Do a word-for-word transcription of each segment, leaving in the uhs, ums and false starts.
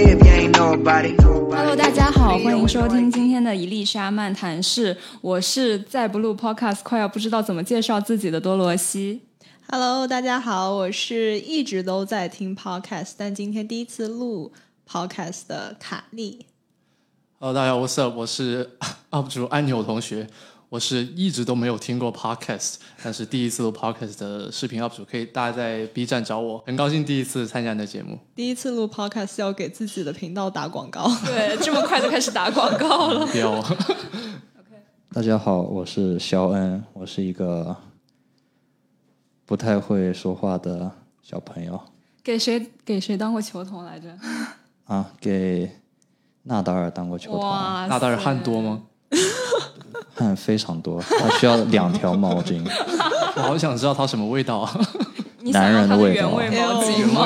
live, you ain't know about it. Hello， 大家好，欢迎收听今天的一粒沙漫谈室，我是再不录 podcast 快要不知道怎么介绍自己的多罗西。 Hello， 大家好，我是一直都在听 podcast， 但今天第一次录 podcast 的卡莉。 Hello， 大家好，我是我是 U P 主安纽同学，我是一直都没有听过 podcast， 但是第一次录 podcast 的视频 U P 主，可以大家在 B 站找我，很高兴第一次参加你的节目。 第一次录 podcast 要给自己的频道打广告， 对，这么快就开始打广告了。 不要。 大家好，我是肖恩，我是一个不太会说话的小朋友。 给谁给谁当过球童来着？ 啊，给纳达尔当过球童。 哇， 纳达尔汗多吗？ 汗非常多，他需要两条毛巾。 我好想知道它什么味道啊！ 你想要它的原味毛巾吗？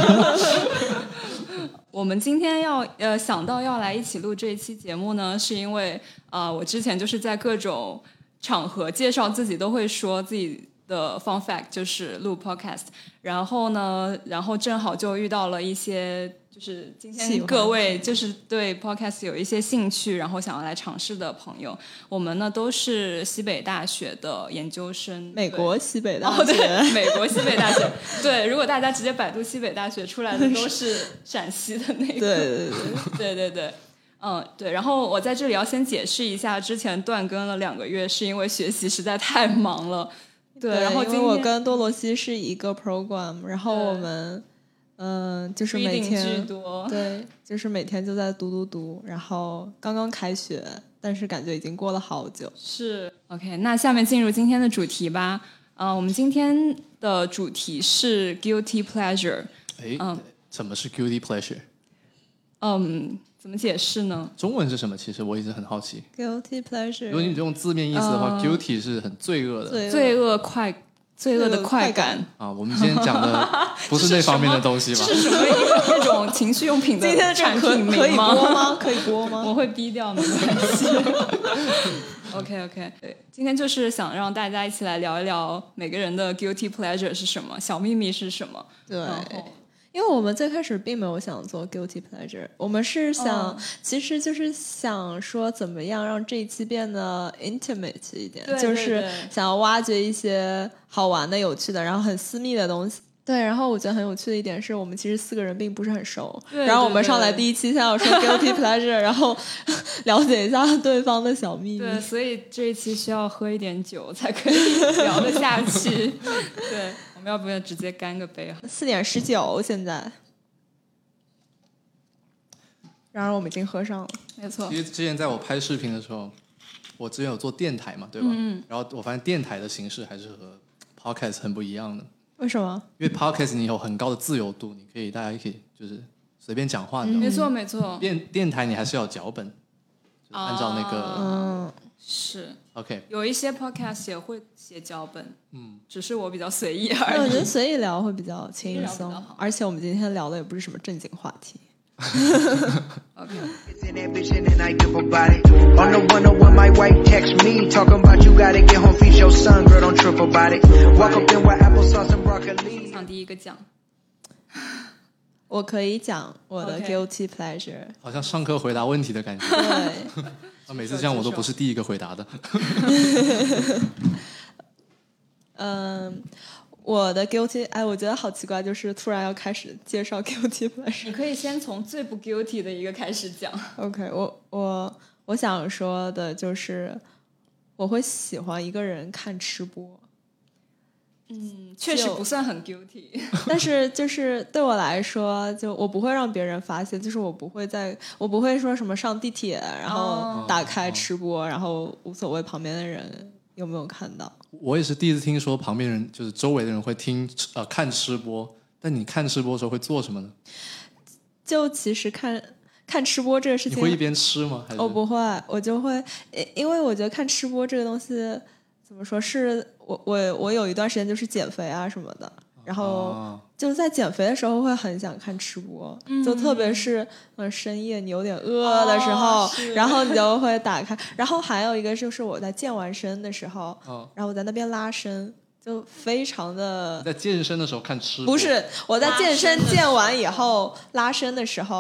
我们今天要呃想到要来一起录这一期节目呢，是因为呃我之前就是在各种场合介绍自己都会说自己的 fun fact 就是录 podcast， 然后呢，然后正好就遇到了一些就是今天各位就是对 podcast 有一些兴趣，然后想要来尝试的朋友，我们呢都是西北大学的研究生， 美国西北大学， 哦、对，美国西北大学。对，如果大家直接百度西北大学出来的都是陕西的那个， 对对对对对对。嗯，对，然后我在这里要先解释一下，之前断更了两个月是因为学习实在太忙了。对， 对， 然后今天因为我跟多罗西是一个 program， 然后我们嗯、呃，就是每天对，就是每天就在读读读，然后刚刚开学，但是感觉已经过了好久。 是 OK， 那下面进入今天的主题吧。呃，我们今天的主题是 guilty pleasure。 哎，嗯，什么是 guilty pleasure？ 嗯。怎么解释呢？ 中文是什么？其实我一直很好奇。 Guilty pleasure， 如果你用字面意思的话、呃、，guilty 是很罪恶的， 罪恶快，罪恶的快感啊。我们今天讲的不是那方面的东西吧？ 是什么一种情趣用品的产品名吗？ 可以播吗？可以播吗？ 我会逼掉，没关系。OK OK， 对，今天就是想让大家一起来聊一聊每个人的 guilty pleasure 是什么，小秘密是什么。 对。因为我们最开始并没有想做 guilty pleasure， 我们是想、哦、其实就是想说怎么样让这一期变得 intimate 一点， 对对对， 就是想要挖掘一些好玩的有趣的然后很私密的东西。对，然后我觉得很有趣的一点是我们其实四个人并不是很熟， 对对对， 然后我们上来第一期先要说 guilty pleasure 然后了解一下对方的小秘密。 对，所以这一期需要喝一点酒才可以聊得下去。对，我们要不要直接干个杯？ 四点十九现在，然而我们已经喝上了。 没错。 其实之前在我拍视频的时候，我之前有做电台嘛，对吧？ 嗯。 然后我发现电台的形式还是和 podcast 很不一样的。 为什么？ 因为 podcast 你有很高的自由度，你可以大家可以就是随便讲话的、嗯。 没错没错。 电电台你还是要有脚本，就是、按照那个。 嗯、 啊，是。 OK。 有一些 podcast 也会写脚本，嗯，只是我比较随意而已。 我觉得随意聊会比较轻松，而且我们今天聊的也不是什么正经话题。 OK。讲第一个讲， 我可以讲我的 guilty pleasure， 好像上课回答问题的感觉。 对， 啊，每次这样我都不是第一个回答的。 嗯。我的 guilty， 哎，我觉得好奇怪，就是突然要开始介绍 guilty pleasure。 你可以先从最不 guilty 的一个开始讲。 OK， 我我我想说的就是，我会喜欢一个人看吃播。 嗯，确实不算很 guilty， 但是就是对我来说，就我不会让别人发现，就是我不会在，我不会说什么上地铁，然后打开吃播，哦、然后无所谓旁边的人有没有看到。 我也是第一次听说旁边人就是周围的人会听呃看吃播，但你看吃播的时候会做什么呢？ 就其实看看吃播这个事情， 你会一边吃吗？还是我不会，我就会，因为我觉得看吃播这个东西怎么说，是我我我有一段时间就是减肥啊什么的，然后就在减肥的时候会很想看吃播， 嗯、 就特别是嗯深夜你有点饿的时候、哦，然后你就会打开。然后还有一个就是我在健完身的时候，哦、然后我在那边拉伸，就非常的。 在健身的时候看吃播？ 不是，我在健身健完以后拉伸的时候，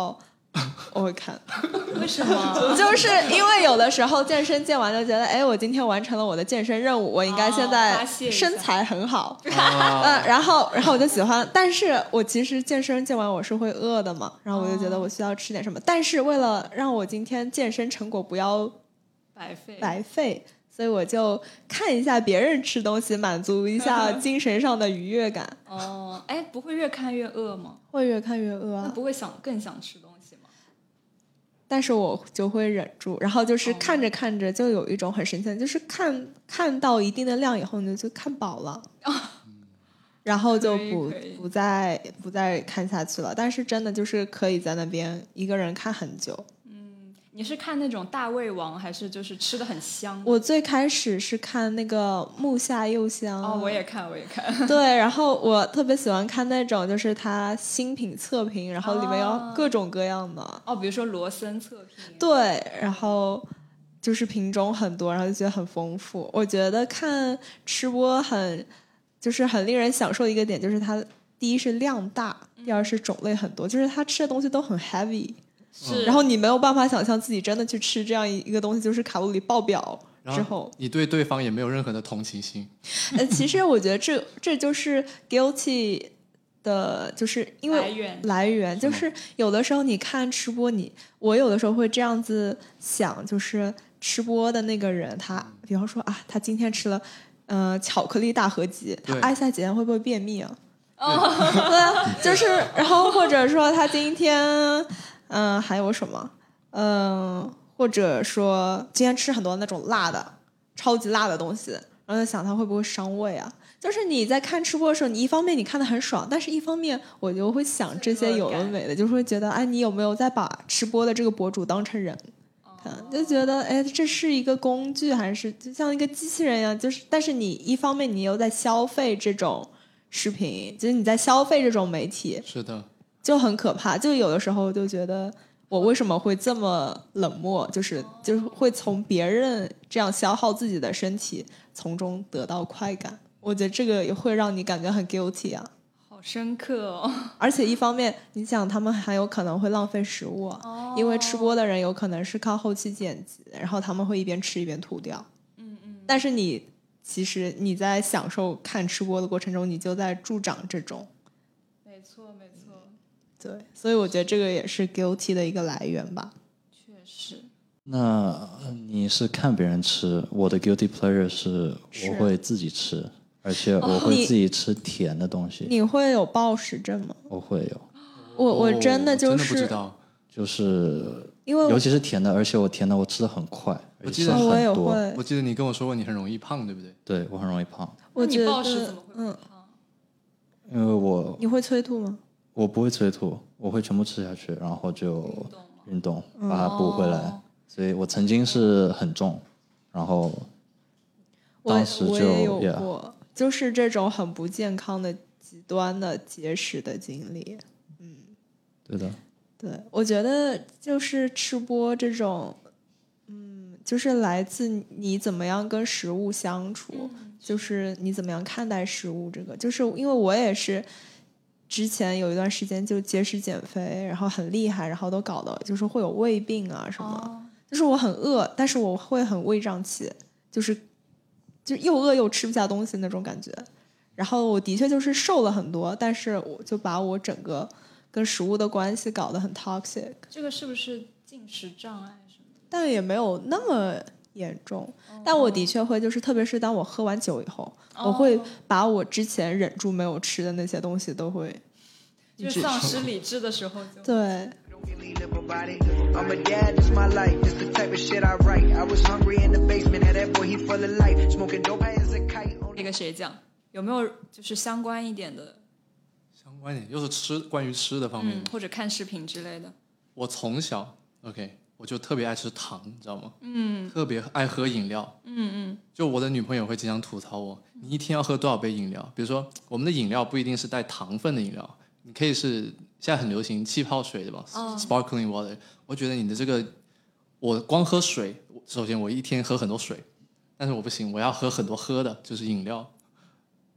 我会看。 为什么？ 就是因为有的时候健身健完就觉得，哎，我今天完成了我的健身任务，我应该现在身材很好，哦、嗯，然后然后我就喜欢，但是我其实健身健完我是会饿的嘛，然后我就觉得我需要吃点什么，哦、但是为了让我今天健身成果不要白费白费。所以我就看一下别人吃东西，满足一下精神上的愉悦感。 哦，哎，不会越看越饿吗？ 会越看越饿啊。 那不会想更想吃东西吗？ 但是我就会忍住，然后就是看着看着就有一种很神奇的，就是看看到一定的量以后，你就看饱了，哦、然后就不不再不再看下去了。但是真的就是可以在那边一个人看很久。 你是看那种大胃王还是就是吃的很香？ 我最开始是看那个木下佑香。 哦，我也看我也看。 对，然后我特别喜欢看那种就是他新品测评，然后里面有各种各样的。 哦，比如说罗森测评。 对，然后就是品种很多，然后就觉得很丰富。我觉得看吃播很就是很令人享受的一个点，就是它第一是量大，第二是种类很多，就是他吃的东西都很 heavy。 是， 然后你没有办法想象自己真的去吃这样一个东西，就是卡路里爆表之后， 你对对方也没有任何的同情心。 呃，其实我觉得这这就是 guilty 的，就是因为来源来源就是有的时候你看吃播，你我有的时候会这样子想，就是吃播的那个人，他比方说啊，他今天吃了呃巧克力大合集，他挨下几天会不会便秘啊？哦，对，就是然后或者说他今天。嗯，还有什么？嗯，或者说今天吃很多那种辣的、超级辣的东西，然后在想它会不会伤胃啊？就是你在看吃播的时候，你一方面你看得很爽，但是一方面我就会想这些有的没的，就是会觉得，哎，你有没有在把吃播的这个博主当成人看？就觉得，哎，这是一个工具，还是就像一个机器人一样？就是，但是你一方面你又在消费这种视频，就是你在消费这种媒体。 是的。 就很可怕，就有的时候就觉得我为什么会这么冷漠，就是就是会从别人这样消耗自己的身体，从中得到快感。我觉得这个也会让你感觉很 guilty 啊， 好深刻哦。 而且一方面，你想他们还有可能会浪费食物啊，哦、因为吃播的人有可能是靠后期剪辑，然后他们会一边吃一边吐掉。嗯嗯。但是你其实你在享受看吃播的过程中，你就在助长这种。 没错，没错。 对，所以我觉得这个也是 guilty 的一个来源吧。 确实。 那你是看别人吃，我的 guilty pleasure 是我会自己吃，而且我会自己吃甜的东西。 哦、你, 你会有暴食症吗？ 我会有。 我我真的就是、 哦、真的不知道， 就是因为尤其是甜的，而且我甜的我吃的很快， 我记得很多。 我也会。 我记得你跟我说过你很容易胖，对不对？ 对，我很容易胖。 我觉得你暴食怎么会胖？ 嗯、因为我你会催吐吗？ 我不会催吐，我会全部吃下去，然后就运动把它补回来。 哦、 所以我曾经是很重，然后当时就我也有过， yeah. 就是这种很不健康的极端的节食的经历。嗯， 对的。 对，我觉得就是吃播这种，嗯，就是来自你怎么样跟食物相处，嗯、就是你怎么样看待食物这个。就是因为我也是。之前有一段时间就节食减肥，然后很厉害，然后都搞得就是会有胃病啊什么，哦、就是我很饿，但是我会很胃胀气，就是就又饿又吃不下东西那种感觉。然后我的确就是瘦了很多，但是我就把我整个跟食物的关系搞得很 toxic。 这个是不是进食障碍什么的？ 但也没有那么严重，哦、但我的确会，就是特别是当我喝完酒以后，哦、我会把我之前忍住没有吃的那些东西都会， 就丧失理智的时候就对。 那个谁讲，有没有就是相关一点的？ 相关一点，又是吃关于吃的方面， 嗯，或者看视频之类的。 我从小 OK。我就特别爱吃糖，你知道吗？嗯，特别爱喝饮料。嗯嗯，就我的女朋友会经常吐槽我，你一天要喝多少杯饮料？比如说，我们的饮料不一定是带糖分的饮料，你可以是现在很流行气泡水，对吧？哦、Sparkling water。我觉得你的这个，我光喝水，首先我一天喝很多水，但是我不行，我要喝很多喝的，就是饮料。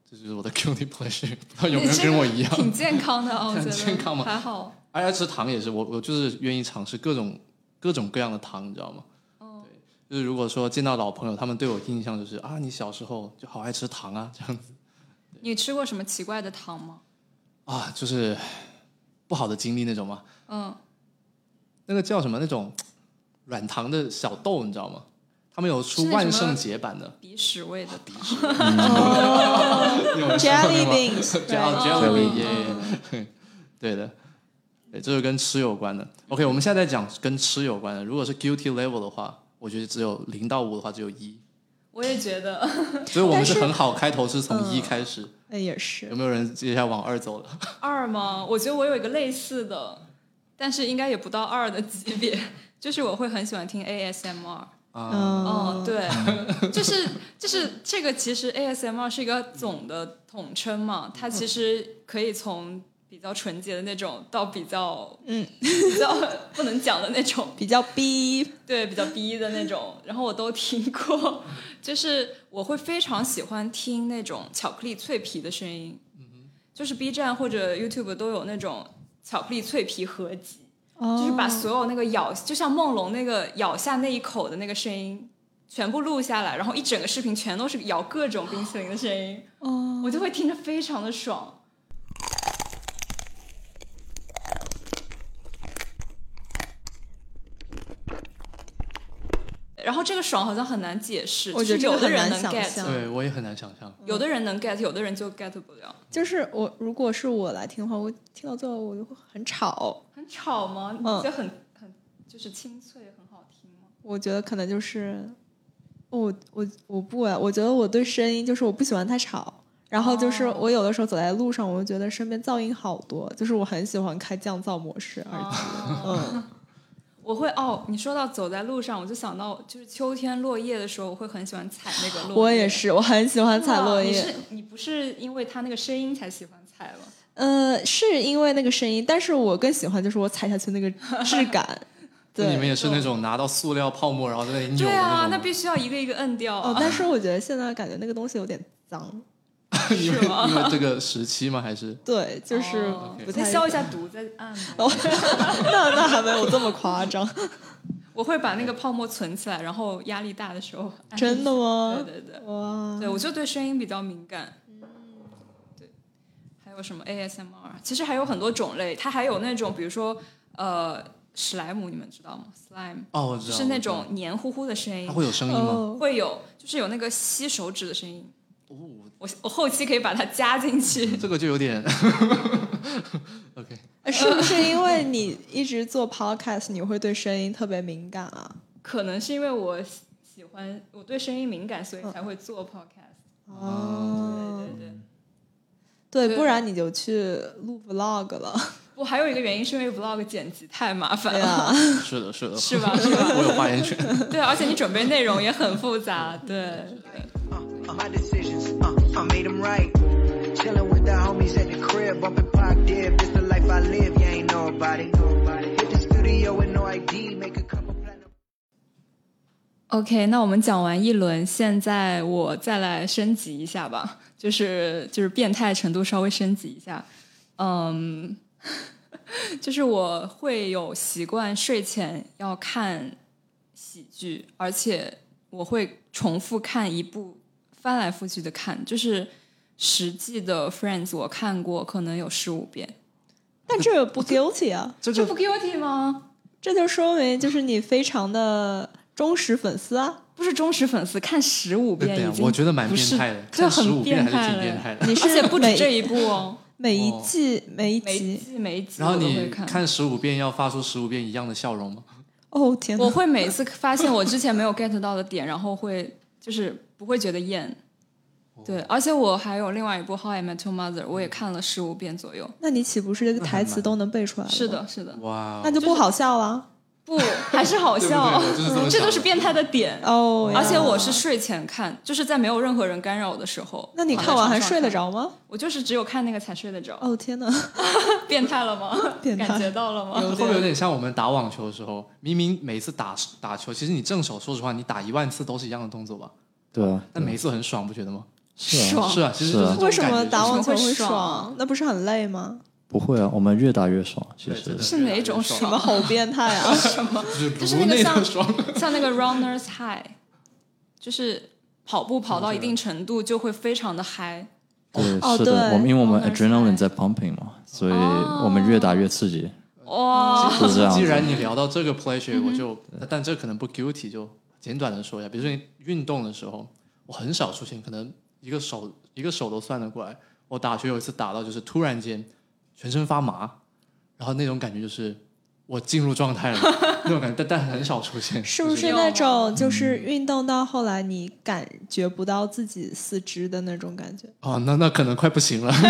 这就是我的 guilty pleasure， 不知道有没有跟我一样？ 挺健康的啊，我觉得健康吗？ 还好。 爱吃糖也是，我我就是愿意尝试各种各种各样的糖，你知道吗？哦，对，就是如果说见到老朋友，他们对我印象就是啊，你小时候就好爱吃糖啊，这样子。 你吃过什么奇怪的糖吗？ 啊，就是不好的经历那种吗？ 嗯， 那个叫什么那种软糖的小豆，你知道吗？他们有出万圣节版的， 鼻屎味的鼻屎。 哦 ，Jelly beans，Jelly beans，对的，对，这是跟吃有关的。OK， 我们现在在讲跟吃有关的。如果是 guilty level 的话，我觉得只有零到五的话，只有一。 我也觉得， 所以我们是很好，开头是从一开始。 那、嗯、也是。 有没有人接下来往二走了？ 二吗？我觉得我有一个类似的，但是应该也不到二的级别，就是我会很喜欢听 A S M R。 啊， 哦，对，就是就是这个，其实 A S M R 是一个总的统称嘛，它其实可以从比较纯洁的那种到比较嗯比较不能讲的那种， 比较逼， 对，比较逼的那种，然后我都听过，就是我会非常喜欢听那种巧克力脆皮的声音，就是 B 站或者 YouTube 都有那种巧克力脆皮合集。就是把所有那个咬，就像梦龙那个咬下那一口的那个声音全部录下来，然后一整个视频全都是咬各种冰淇淋的声音，哦，我就会听着非常的爽。然后这个爽好像很难解释， 我觉得有的人能 get， 对我也很难想象， 有的人能 get， 有的人就 get 不了。 就是我如果是我来听的话，我听到最后我就会很吵。 很吵吗？你觉得很、嗯、很就是清脆，很好听吗？ 我觉得可能就是我我我不啊，我觉得我对声音就是我不喜欢太吵，然后就是我有的时候走在路上，我就觉得身边噪音好多，就是我很喜欢开降噪模式，而且、哦、嗯。 我会哦，你说到走在路上，我就想到就是秋天落叶的时候，我会很喜欢踩那个落叶。 我也是，我很喜欢踩落叶。 你是你不是因为它那个声音才喜欢踩吗？ 呃，是因为那个声音，但是我更喜欢就是我踩下去那个质感。对， 你们也是那种拿到塑料泡沫然后在那里扭的那种。对啊，那必须要一个一个摁掉、啊。 哦，但是我觉得现在感觉那个东西有点脏。 因为因为这个时期吗？还是对，就是不太、 哦、消一下毒再按。 那那还没有这么夸张。 我会把那个泡沫存起来，然后压力大的时候按。 真的吗？ 对对对， 哇！ 对，我就对声音比较敏感。嗯，对。还有什么 A S M R？ 其实还有很多种类，它还有那种，比如说呃，史莱姆，你们知道吗 ？Slime。 哦，我知道。 就是那种黏糊糊的声音。 它会有声音吗？ 哦、会有，就是有那个吸手指的声音。哦，我我后期可以把它加进去。 这个就有点，OK。 是不是因为你一直做 podcast， 你会对声音特别敏感啊？ 可能是因为我喜欢，我对声音敏感，所以才会做 podcast。 哦， 对对对， 对，不然你就去录 vlog 了。 我还有一个原因是因为 vlog 剪辑太麻烦了。 啊、 是的，是的， 是吧？是吧？ 我有发言权。 对，而且你准备内容也很复杂。对。 My decisions, uh, I made them right. Chilling with the homies at the crib, bumping Pac Dib. This the life I live, you ain't nobody. Hit the studio with no I D, make a couple platinum. OK， 那我们讲完一轮，现在我再来升级一下吧，就是就是变态程度稍微升级一下。嗯，就是我会有习惯睡前要看喜剧，而且我会重复看一部。翻来覆去的看，就是实际的 Friends 我看过可能有十五遍， 但这不 guilty 啊， 这这不 guilty 吗？ 这就说明就是你非常的忠实粉丝啊， 不是忠实粉丝，看十五遍已经， 我觉得蛮变态的， 这很变态还是挺变态的。 你是而且不止这一部哦， 每一季每一集每一集， 然后你看十五遍要发出十五遍一样的笑容吗？ 哦天哪！ 我会每次发现我之前没有 get 到的点，然后会就是不会觉得厌。对，而且我还有另外一部《How I Met Your Mother》，我也看了十五遍左右。 那你岂不是这个台词都能背出来了？ 是的，是的。 哇， 那就不好笑了。 不，还是好笑， 对对对， 这都是变态的点哦。 而且我是睡前看，就是在没有任何人干扰的时候。 那你看完还睡得着吗？ 我就是只有看那个才睡得着。 哦天哪， 变态了吗？ 变态， 感觉到了吗？ 会不会有点像我们打网球的时候，明明每次打打球，其实你正手，说实话，你打一万次都是一样的动作吧？ 对啊， 但每一次很爽，不觉得吗？ 是啊， 是啊，其实就是这种感觉。 为什么打网球会爽爽？那不是很累吗？ 不会啊，我们越打越爽。其实是哪种爽？ 你们好变态啊！ 什么？就是那个像像那个 runners high， 就是跑步跑到一定程度就会非常的嗨。 对， 哦、 是的， 对我们因为我们 adrenaline 在 pumping 嘛，所以我们越打越刺激。 哇， 是这样。 既然你聊到这个 pleasure，、嗯、我就，但这可能不 guilty， 就简短的说一下。比如说你运动的时候，我很少出现，可能一个手一个手都算得过来。我打球有一次打到就是突然间全身发麻，然后那种感觉就是我进入状态了那种感觉，但但很少出现。 是不是那种就是运动到后来你感觉不到自己四肢的那种感觉？ 哦，那那可能快不行了。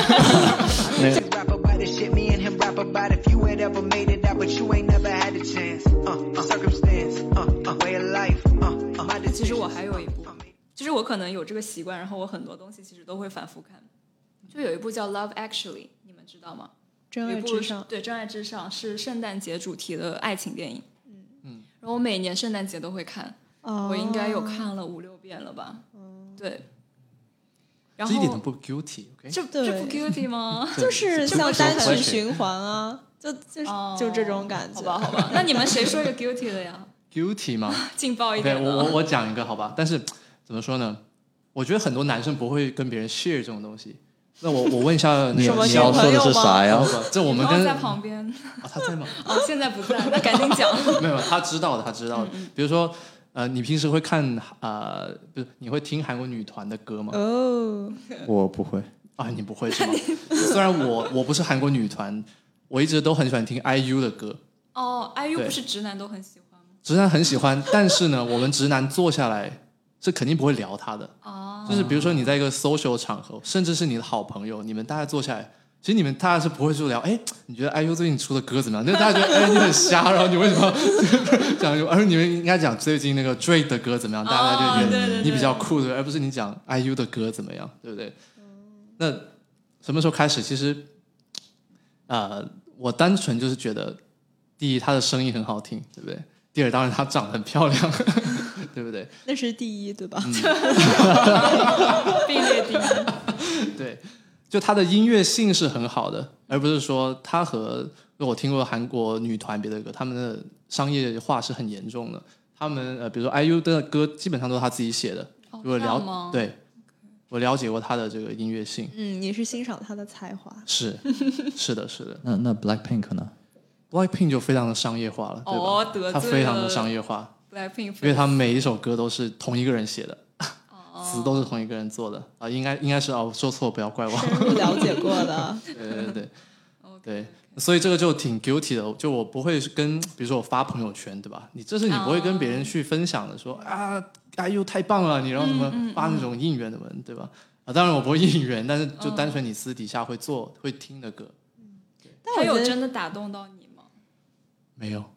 其实我还有一部，就是我可能有这个习惯，然后我很多东西其实都会反复看。就有一部叫《Love Actually》，你们知道吗？ 真爱至上， 对，真爱至上是圣诞节主题的爱情电影。嗯嗯，然后我每年圣诞节都会看，哦、我应该有看了五六遍了吧？嗯，对。然后这一点都不 guilty，okay？ 这这不 guilty 吗？ 就是像单曲循环啊，就就、哦、就这种感觉。 好吧，好吧。那你们谁说一个 guilty 的呀 ？guilty 吗？ 劲爆一点的。 Okay， 我我我讲一个好吧，但是怎么说呢？我觉得很多男生不会跟别人 share 这种东西。那我我问一下你，你要说的是啥呀？ 这我们跟在旁边啊、哦，他在吗？ 哦，现在不在，那赶紧讲。 没有，他知道的，他知道的。嗯嗯比如说，呃，你平时会看呃，不是，你会听韩国女团的歌吗？ 哦， 我不会啊，你不会是吗？虽然我我不是韩国女团，我一直都很喜欢听 I U 的歌。 哦 ，I U 不是直男都很喜欢吗？ 直男很喜欢，但是呢，我们直男坐下来是肯定不会聊他的。哦。就是比如说你在一个 social 场合，甚至是你的好朋友，你们大家坐下来，其实你们大家是不会说聊，哎，你觉得 I U 最近出的歌怎么样？就大家觉得，哎，你很瞎，然后你为什么讲？而你们应该讲最近那个 Drake 的歌怎么样？大家就觉得你比较酷的，而不是你讲 I U 的歌怎么样，对不对？那什么时候开始？其实，呃，我单纯就是觉得，第一，他的声音很好听，对不对？第二，当然她长得很漂亮，对不对？ 那是第一，对吧？ 嗯、并列第一。 对，就她的音乐性是很好的，而不是说她和我听过韩国女团别的歌，他们的商业化是很严重的。他们呃，比如说 I U 的歌基本上都是她自己写的。 哦、 如果了对，我了解过她的这个音乐性。 嗯，你是欣赏她的才华？ 是，是的，是的。 那那 Blackpink 呢？ Blackpink 就非常的商业化了，对吧？ 哦，得罪了。 它非常的商业化 ，Blackpink， 因为他们每一首歌都是同一个人写的，哦、词都是同一个人做的啊，应该应该是哦，说错不要怪我。 深入了解过的， 对对对对，所以这个就挺 guilty 的，就我不会跟，比如说我发朋友圈，对吧？你这是你不会跟别人去分享的，说啊 I U 太棒了，你让什么发那种应援的文，对吧？啊，当然我不会应援，但是就单纯你私底下会做、会听的歌。 他有真的打动到你？ 没有，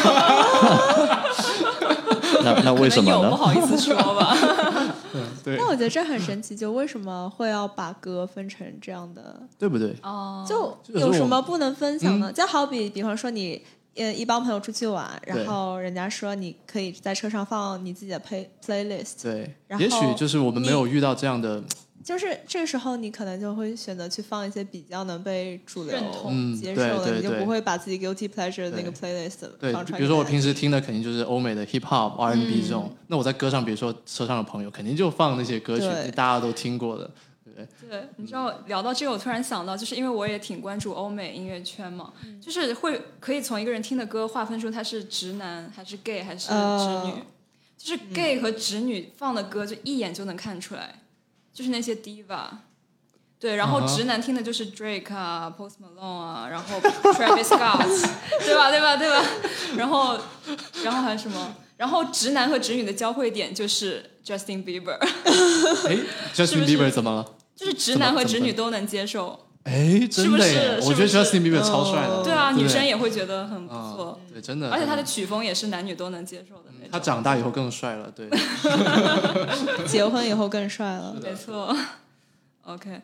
那那为什么呢？ 有不好意思说吧。 对， 那我觉得这很神奇，就为什么会要把歌分成这样的， 对不对？ 哦， 就有什么不能分享呢？嗯、就好比，比方说你呃一帮朋友出去玩，然后人家说你可以在车上放你自己的 play playlist， 对，也许就是我们没有遇到这样的。 就是这个时候，你可能就会选择去放一些比较能被主流接受的， 嗯、对对对， 你就不会把自己 guilty pleasure 的那个 playlist 放出来。 对，比如说我平时听的肯定就是欧美的 hip hop、R and B 这种，嗯、那我在歌上，比如说车上的朋友，肯定就放那些歌曲，大家都听过的，对不对？ 对，你知道聊到这个，我突然想到，就是因为我也挺关注欧美音乐圈嘛，嗯、就是会可以从一个人听的歌划分出他是直男还是 gay 还是直女，呃、就是 gay 和直女放的歌就一眼就能看出来，就是那些 diva。对，然后直男听的就是 Drake 啊、Post Malone 啊，然后 Travis Scott， 对吧？对吧？对吧？然后，然后还有什么？然后直男和直女的交汇点就是 Justin Bieber。 哎 ，Justin Bieber 怎么了？ 就是直男和直女都能接受。 哎，真的耶！我觉得 Justin Bieber 超帅的。 对啊，女生也会觉得很不错。 对，真的。 而且他的曲风也是男女都能接受的那种。 他长大以后更帅了，对。 结婚以后更帅了， 没错。OK。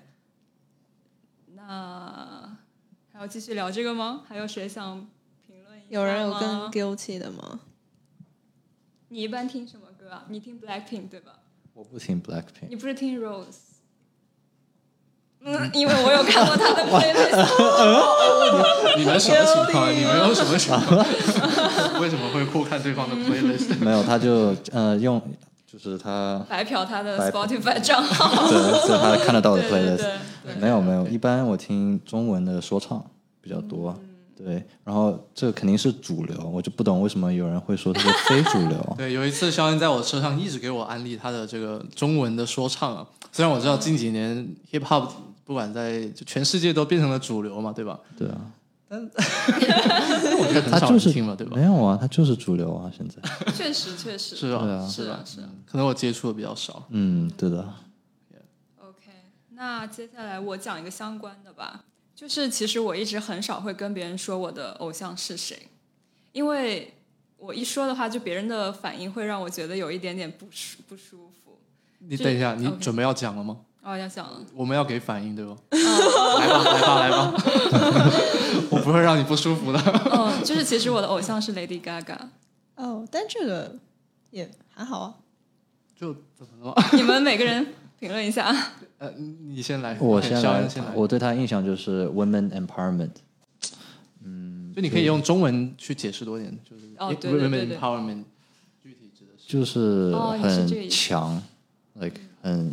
那还要继续聊这个吗？还有谁想评论一下吗？ 有人有更 guilty 的吗？ 你一般听什么歌啊？你听 Blackpink 对吧？ 我不听 Blackpink。 你不是听 Rose？ 因为我有看过他的 playlist。 你们什么情况？你们有什么情况？为什么会互看对方的 playlist？ 没有，他就呃用就是他白嫖他的 Spotify 账号。 对，这是他看得到的 playlist。 对对对没有没有，一般我听中文的说唱比较多。嗯对，然后这个肯定是主流，我就不懂为什么有人会说它是非主流。 对，有一次肖恩在我车上一直给我安利他的这个中文的说唱啊，虽然我知道近几年 hip hop 不管在就全世界都变成了主流嘛，对吧？ 对啊， 但我觉得很少人听了，对吧？ 没有啊，它就是主流啊，现在。 确实确实是啊， 对啊是啊是啊， 可能我接触的比较少。 嗯，对的。 OK， 那接下来我讲一个相关的吧。就是其实我一直很少会跟别人说我的偶像是谁，因为我一说的话，就别人的反应会让我觉得有一点点不舒不舒服。 你等一下，你准备要讲了吗？ 哦，要讲了。 我们要给反应对吧？来吧，来吧，来吧！我不会让你不舒服的。 嗯，就是其实我的偶像是 Lady Gaga。 哦，但这个也还好啊。 就怎么了？ 你们每个人评论一下。 呃，你先来， 我先来。 先来。 我对他印象就是 women empowerment。 嗯，就你可以用中文去解释多一点，就是哦，对对对 women empowerment 具体指的是就是很强、哦、，like 很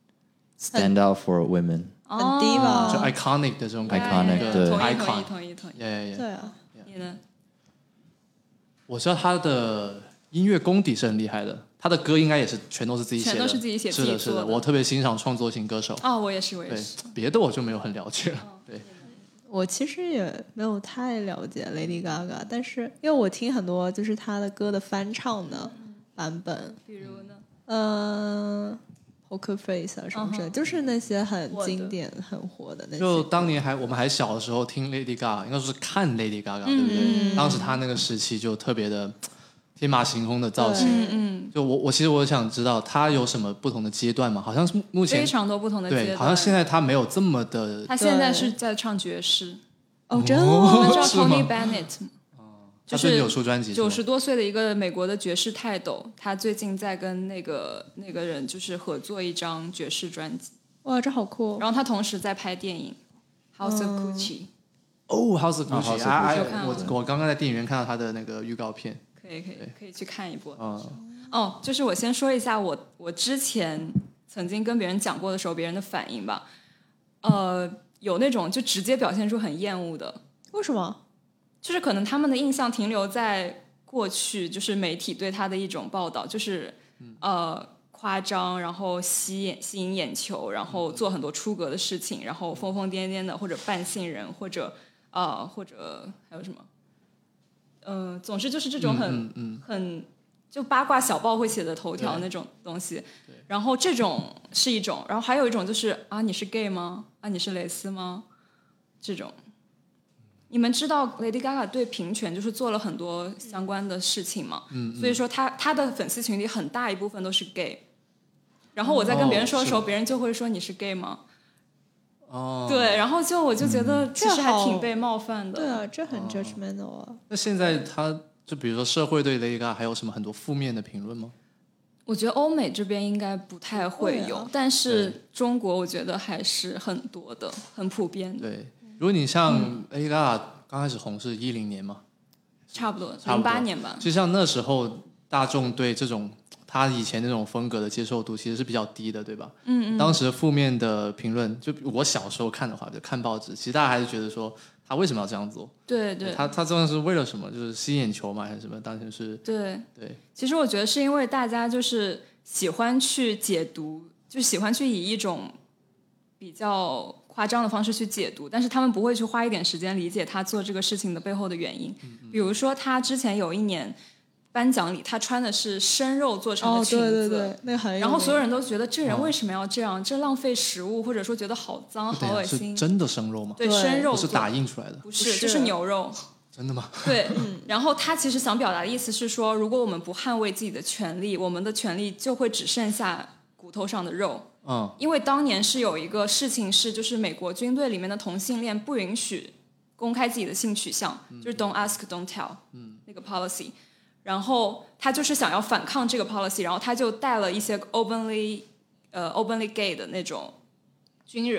stand out for women， 很低吧， 就 iconic 的这种感觉 ，iconic 对 ，icon，同意同意， 对啊， 你呢？ 我知道他的音乐功底是很厉害的。他的歌应该也是全都是自己写的， 全都是自己写， 是的，是的。我特别欣赏创作型歌手。 哦，我也是，我也是。 别的我就没有很了解了。哦、对， 我其实也没有太了解 Lady Gaga， 但是因为我听很多就是她的歌的翻唱的版本， 比如呢， 嗯、呃、，Poker Face 啊什么之类， uh-huh. 就是那些很经典、很火的那些。 就当年还我们还小的时候听 Lady Gaga， 应该说是看 Lady Gaga，、嗯、对不对？当时她那个时期就特别的。天马行空的造型， 嗯嗯， 就我我其实我想知道他有什么不同的阶段嘛？好像是目前非常多不同的阶段， 对，好像现在他没有这么的。 他现在是在唱爵士， 哦，真的吗？ 我们知道 Tony Bennett 吗？ 哦， 就是有出专辑， 九十多岁的一个美国的爵士泰斗，他最近在跟那个那个人就是合作一张爵士专辑。 哇，这好酷！ 然后他同时在拍电影《House of Gucci》。 哦，《House of Gucci》啊，我我我刚刚在电影院看到他的那个预告片。 可以可以可以去看一波。 哦， 哦，就是我先说一下我我之前曾经跟别人讲过的时候，别人的反应吧。呃，有那种就直接表现出很厌恶的。 为什么？ 就是可能他们的印象停留在过去，就是媒体对他的一种报道，就是呃夸张，然后吸引吸引眼球，然后做很多出格的事情，然后疯疯癫癫的，或者扮信人，或者呃或者还有什么？呃，总之就是这种很、 嗯嗯、 很就八卦小报会写的头条那种东西，然后这种是一种，然后还有一种就是啊你是 gay 吗？啊你是蕾丝吗？这种，你们知道 Lady Gaga 对平权就是做了很多相关的事情嘛？ 嗯， 所以说她她的粉丝群里很大一部分都是 gay， 然后我在跟别人说的时候， 哦、 别人就会说你是 gay 吗？ 哦， 对，然后就我就觉得其实还挺被冒犯的。 对啊，这很 judgmental 啊。 哦、那现在他就比如说社会对 Lady Gaga 还有什么很多负面的评论吗？ 我觉得欧美这边应该不太会有，啊、但是中国我觉得还是很多的，很普遍的。 对，如果你像 Lady Gaga 刚开始红是一零年嘛， 差不多零八年吧。 就像那时候大众对这种。他以前那种风格的接受度其实是比较低的，对吧？ 嗯嗯。 当时负面的评论，就我小时候看的话，就看报纸，其实大家还是觉得说他为什么要这样做？ 对对。 他他这样是为了什么？就是吸眼球嘛，还是什么？当时是。 对对。 其实我觉得是因为大家就是喜欢去解读，就喜欢去以一种比较夸张的方式去解读，但是他们不会去花一点时间理解他做这个事情的背后的原因。 嗯嗯。 比如说他之前有一年。颁奖礼，他穿的是生肉做成的裙子， 哦、对对对，那个很然后所有人都觉得这人为什么要这样？哦、这浪费食物，或者说觉得好脏、好恶心。 是真的生肉吗？ 对，生肉不是打印出来的， 不是，就是牛肉。 真的吗？ 对，嗯。然后他其实想表达的意思是说，如果我们不捍卫自己的权利，我们的权利就会只剩下骨头上的肉。 嗯。 因为当年是有一个事情是，就是美国军队里面的同性恋不允许公开自己的性取向， 嗯、 就是 Don't ask, don't tell， 嗯， 那个 policy。然后他就是想要反抗这个 policy， 然后他就带了一些 openly 呃 openly gay 的那种军人，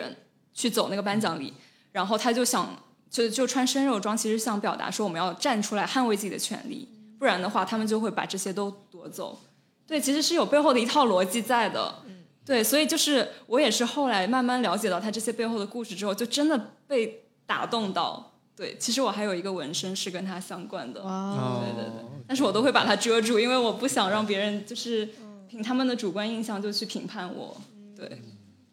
去走那个颁奖礼，然后他就想就就穿生肉装，其实想表达说我们要站出来捍卫自己的权利，不然的话他们就会把这些都夺走。对，其实是有背后的一套逻辑在的。对，所以就是我也是后来慢慢了解到他这些背后的故事之后，就真的被打动到。对，其实我还有一个纹身是跟他相关的。 哇， 对对对，但是我都会把它遮住，因为我不想让别人就是凭他们的主观印象就去评判我。对。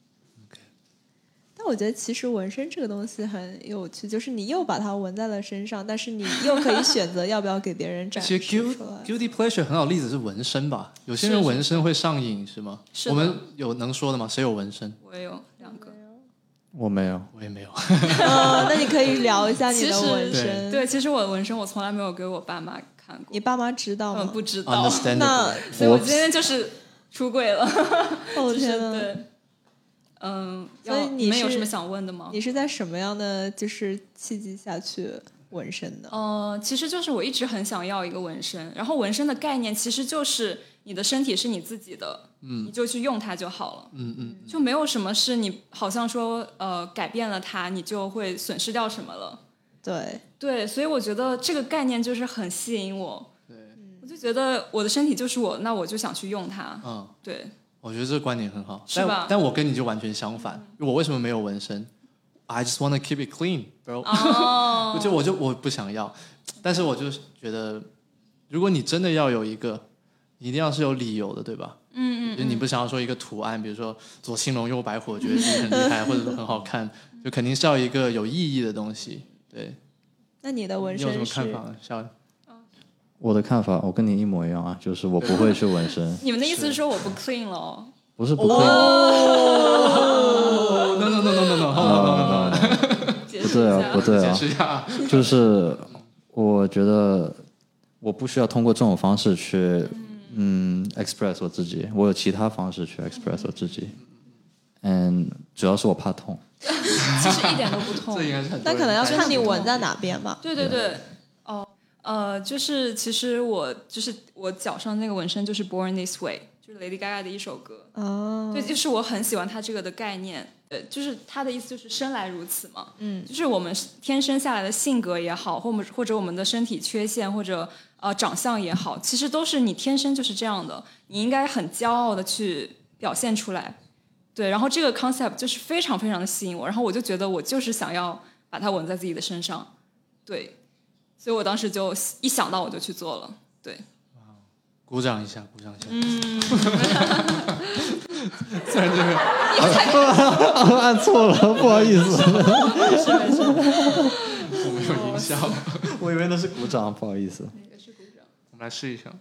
但我觉得其实纹身这个东西很有趣，就是你又把它纹在了身上，但是你又可以选择要不要给别人展示出来。 其实 guilty pleasure 很好的例子是纹身吧，有些人纹身会上瘾是吗？ 是我们有能说的吗？谁有纹身？ 我也有两个。 我没有， 我也没有。 哦，那你可以聊一下你的纹身。 对，其实我的纹身我从来没有给我爸妈看过。 你爸妈知道吗？ 他们不知道。 那所以我今天就是出柜了。 哦天哪！ 对。嗯， 所以你们有什么想问的吗？ 你是在什么样的就是契机下去纹身的？ 呃，其实就是我一直很想要一个纹身，然后纹身的概念其实就是你的身体是你自己的，嗯，你就去用它就好了， 嗯嗯， 就没有什么是你好像说呃改变了它，你就会损失掉什么了。 对对，所以我觉得这个概念就是很吸引我。对，我就觉得我的身体就是我，那我就想去用它。嗯，对。 我觉得这个观点很好， 是吧？ 但但我跟你就完全相反。嗯、我为什么没有纹身 ？I just want to keep it clean, bro。 哦， 就我就我不想要，但是我就觉得，如果你真的要有一个，一定要是有理由的，对吧？ 嗯嗯。 就你不想要说一个图案，比如说左青龙右白虎，我觉得你很厉害，或者说很好看，就肯定是要一个有意义的东西。对。 那你的纹身你有什么看法？肖？ 我的看法，我跟你一模一样啊，就是我不会去纹身。 你们的意思是说我不 clean 了、哦？ 不是不 clean。 哦 no no no no no no no no。 不对啊，不对啊， 解释一下。 就是我觉得我不需要通过这种方式去嗯 express 我自己，我有其他方式去 express 我自己。嗯，主要是我怕痛。 其实一点都不痛。 这应该是很多人。 那可能要看你纹在哪边吧。 对对对。哦。呃，就是其实我就是我脚上那个纹身就是 Born This Way， 就是 Lady Gaga 的一首歌。 哦， 对，就是我很喜欢它这个的概念。呃，就是它的意思就是生来如此嘛。嗯，就是我们天生下来的性格也好，或或者我们的身体缺陷或者呃长相也好，其实都是你天生就是这样的，你应该很骄傲的去表现出来。对，然后这个 concept 就是非常非常的吸引我，然后我就觉得我就是想要把它纹在自己的身上。对。所以我当时就一想到我就去做了，对。 鼓掌一下，鼓掌一下。 嗯。 虽然这个按错了，不好意思。 没事没事。 我没有音效， 我以为那是鼓掌，不好意思。 哪个是鼓掌？ 我们来试一下。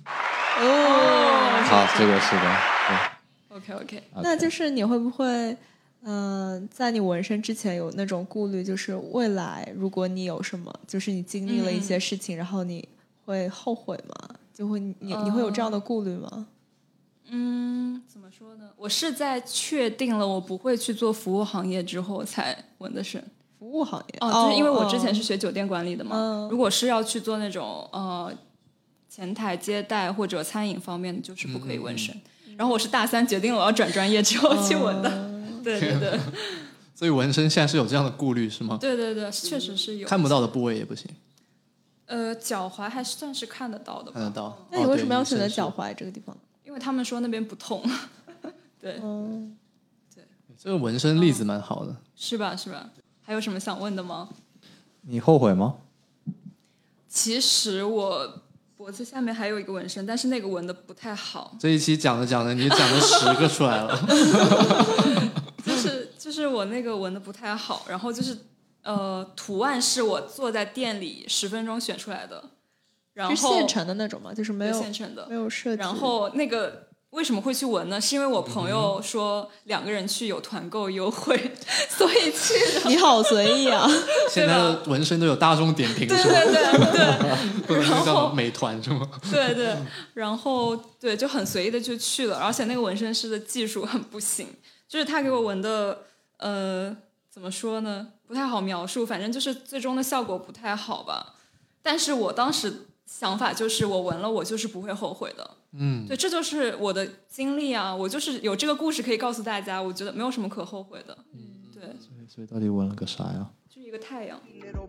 哦。 好，这个是的。 对。OK OK。 那就是你会不会？嗯、呃，在你纹身之前有那种顾虑，就是未来如果你有什么，就是你经历了一些事情，嗯、然后你会后悔吗？就会你你会有这样的顾虑吗？ 嗯，怎么说呢？我是在确定了我不会去做服务行业之后才纹的身。 服务行业哦，就是因为我之前是学酒店管理的嘛。 哦、 如果是要去做那种呃前台接待或者餐饮方面的，就是不可以纹身。嗯、然后我是大三决定了我要转专业之后去纹的。哦对对对， 所以纹身现在是有这样的顾虑是吗？ 对对对，确实是有。 看不到的部位也不行。 呃，脚踝还算是看得到的吧。 看得到。 那你为什么要选择脚踝这个地方？ 因为他们说那边不痛。对。 嗯， 对。 这个纹身例子蛮好的。 是吧？是吧？还有什么想问的吗？ 你后悔吗？ 其实我脖子下面还有一个纹身，但是那个纹的不太好。 这一期讲着讲着，你讲了十个出来了。 就是就是我那个纹的不太好，然后就是呃图案是我坐在店里十分钟选出来的，然后是现成的那种吗？就是没有现成的， 没有设计。 然后那个为什么会去纹呢？是因为我朋友说两个人去有团购优惠，所以去的。 你好随意啊！ 现在的纹身都有大众点评， 对是吧？ 对对对， 不能就叫美团是吗？ 对对，然后对就很随意的就去了，而且那个纹身师的技术很不行。就是他给我纹的，呃，怎么说呢？不太好描述，反正就是最终的效果不太好吧。但是我当时想法就是，我纹了，我就是不会后悔的。嗯，对，这就是我的经历啊，我就是有这个故事可以告诉大家，我觉得没有什么可后悔的。嗯， 对， 所以所以到底纹了个啥呀？ 就一个太阳。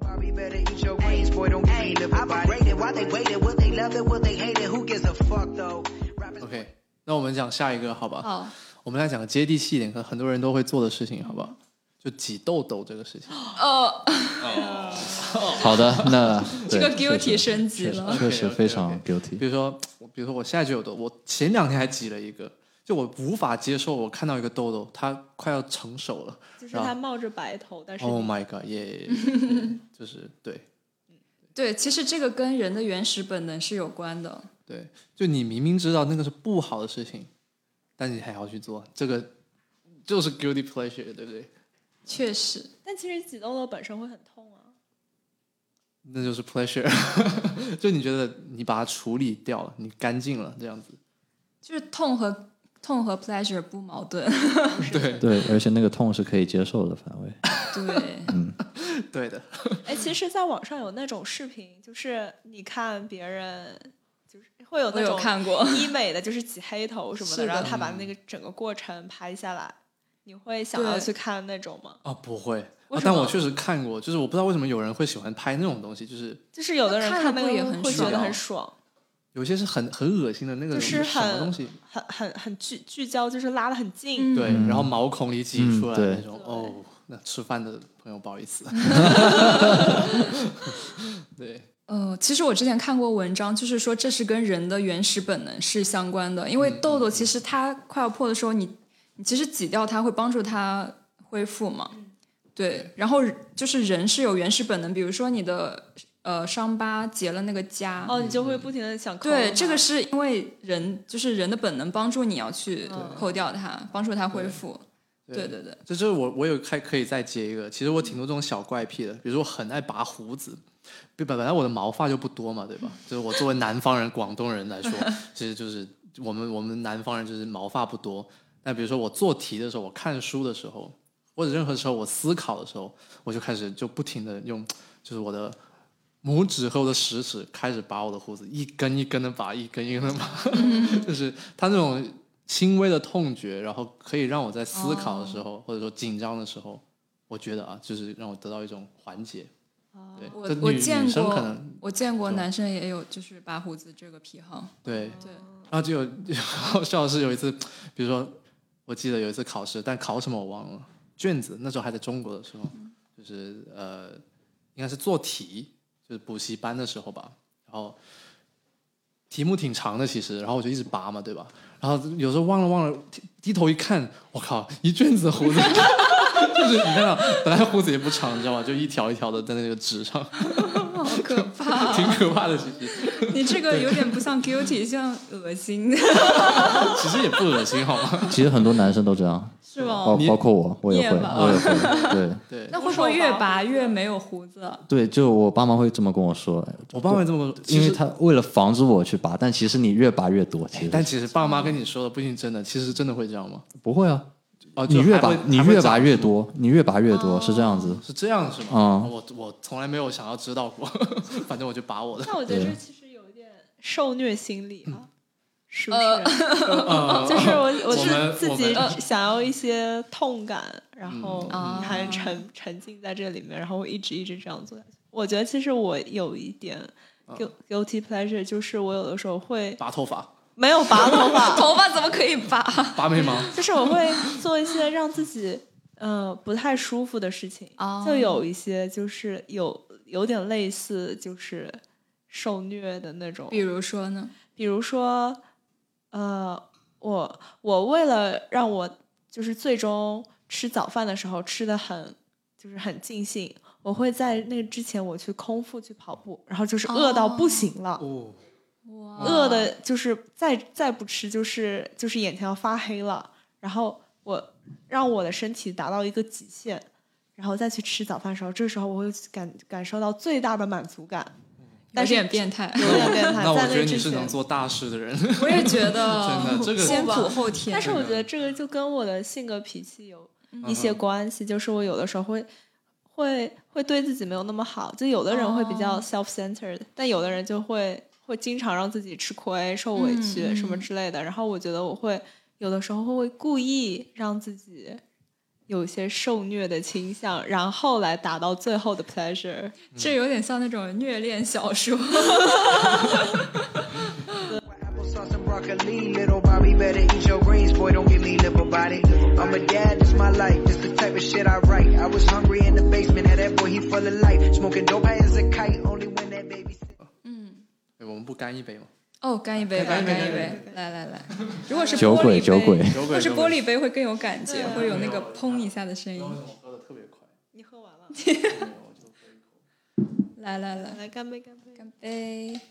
OK， 那我们讲下一个好吧？ 好， 我们来讲个接地气一点，可能很多人都会做的事情，好吧？就挤痘痘这个事情。 哦， 好的，那这个 guilty 升级了， 确实非常 guilty。 比如说，比如说我现在就有痘，我前两天还挤了一个，就我无法接受，我看到一个痘痘，它快要成熟了， 就是它冒着白头，但是 Oh my god， 耶、yeah, 就是对。 对，其实这个跟人的原始本能是有关的。 对，就你明明知道那个是不好的事情，但你还要去做，这个就是 guilty pleasure， 对不对？ 确实， 但其实挤痘痘本身会很痛啊。 那就是 pleasure， 就你觉得你把它处理掉了，你干净了，这样子。 就是痛和痛和 pleasure 不矛盾。 对对，而且那个痛是可以接受的范围。 对， 嗯， 对的。 哎，其实，在网上有那种视频，就是你看别人，就是会有那种看过医美的，就是挤黑头什么的， 的然后他把那个整个过程拍下来，你会想要去看那种吗？ 哦，不会。 为什么？ 但我确实看过，就是我不知道为什么有人会喜欢拍那种东西，就是就是有的人看那个也很会觉得很爽， 有些是很很恶心的那个， 就是什么东西， 很很很聚聚焦，就是拉得很近， 嗯、 对，然后毛孔里挤出来的那种， 嗯、 哦，那吃饭的朋友不好意思。对。 呃，其实我之前看过文章，就是说这是跟人的原始本能是相关的，因为痘痘其实它快要破的时候，你你其实挤掉它会帮助它恢复嘛，对，然后就是人是有原始本能，比如说你的呃伤疤结了那个痂， 哦，你就会不停的想抠。 对，这个是因为人就是人的本能帮助你要去抠掉它，嗯、帮助它恢复。对对对， 这就是我我有还可以再接一个，其实我挺多这种小怪癖的，比如说我很爱拔胡子。本来我的毛发就不多嘛，对吧？就是我作为南方人、广东人来说，其实就是我们我们南方人就是毛发不多。那比如说我做题的时候，我看书的时候，或者任何时候我思考的时候，我就开始就不停的用，就是我的拇指和我的食指开始拔我的胡子，一根一根的拔，一根一根的拔，就是它那种轻微的痛觉，然后可以让我在思考的时候，哦、或者说紧张的时候，我觉得啊，就是让我得到一种缓解。对， 我我见过， 可能我见过男生也有就是拔胡子这个癖好。 对对， 然后就有好笑的是有一次，比如说我记得有一次考试，但考什么我忘了，卷子那时候还在中国的时候，嗯、就是呃应该是做题，就是补习班的时候吧，然后题目挺长的其实，然后我就一直拔嘛，对吧？然后有时候忘了忘了，低低头一看，我靠，一卷子胡子。就是你看到，本来胡子也不长，你知道吗？就一条一条的在那个纸上， 好可怕， 挺可怕的。其实你这个有点不像 guilty， 像恶心。 其实也不恶心，好吗？ 其实很多男生都这样， 是吗？ 包包括我，我也会，我也会。对对。 那会不会越拔越没有胡子？ 对，就我爸妈会这么跟我说。 我爸妈会这么说， 因为他为了防止我去拔，但其实你越拔越多。其实， 但其实爸妈跟你说的不一定真的，其实真的会这样吗？ 不会啊。 哦， 你越拔你越拔越多，你越拔越多， 哦、 是这样子， 是这样是吗？ 嗯， 我我从来没有想要知道过，反正我就拔我的。 那我觉得这其实有一点受虐心理啊，是不是？呃、就是我我是自己想要一些痛感，然后你还沉沉浸在这里面，然后我一直一直这样做下去。我觉得其实我有一点 guilty pleasure， 就是我有的时候会拔头发。 没有拔头发， 头发怎么可以拔？ 拔眉毛， 就是我会做一些让自己呃不太舒服的事情， oh. 就有一些就是有有点类似就是受虐的那种。 比如说呢？ 比如说，呃，我我为了让我就是最终吃早饭的时候吃的很就是很尽兴，我会在那之前我去空腹去跑步，然后就是饿到不行了。 哦饿的就是再再不吃就是就是眼前要发黑了，然后我让我的身体达到一个极限，然后再去吃早饭的时候，这个时候我会感感受到最大的满足感。 有点变态， 有点变态。 那我觉得你是能做大事的人。 我也觉得， 真的这个先苦后甜。 但是我觉得这个就跟我的性格脾气有一些关系，嗯、就是我有的时候会会会对自己没有那么好，就有的人会比较 self-centered，、哦、但有的人就会。会经常让自己吃亏、受委屈、嗯、什么之类的，然后我觉得我会有的时候会故意让自己有些受虐的倾向，然后来达到最后的 pleasure。 这有点像那种虐恋小说。 Broccoli, little Bobby, better eat your greens, boy, don't give me little body. I'm a dad, this my life, this the type of shit I write. I was hungry in the basement, had that boy, he full of life. Smoking dope high as a kite, only when that baby sit. 嗯， 我们不干一杯吗？ 哦，干一杯吧，干一杯，来来来。如果是酒玻璃杯， 鬼酒鬼， 如果是玻璃杯会更有感觉，会有那个砰一下的声音。 喝的特别快。 你喝完了？ 来来来， 来干杯干杯干杯！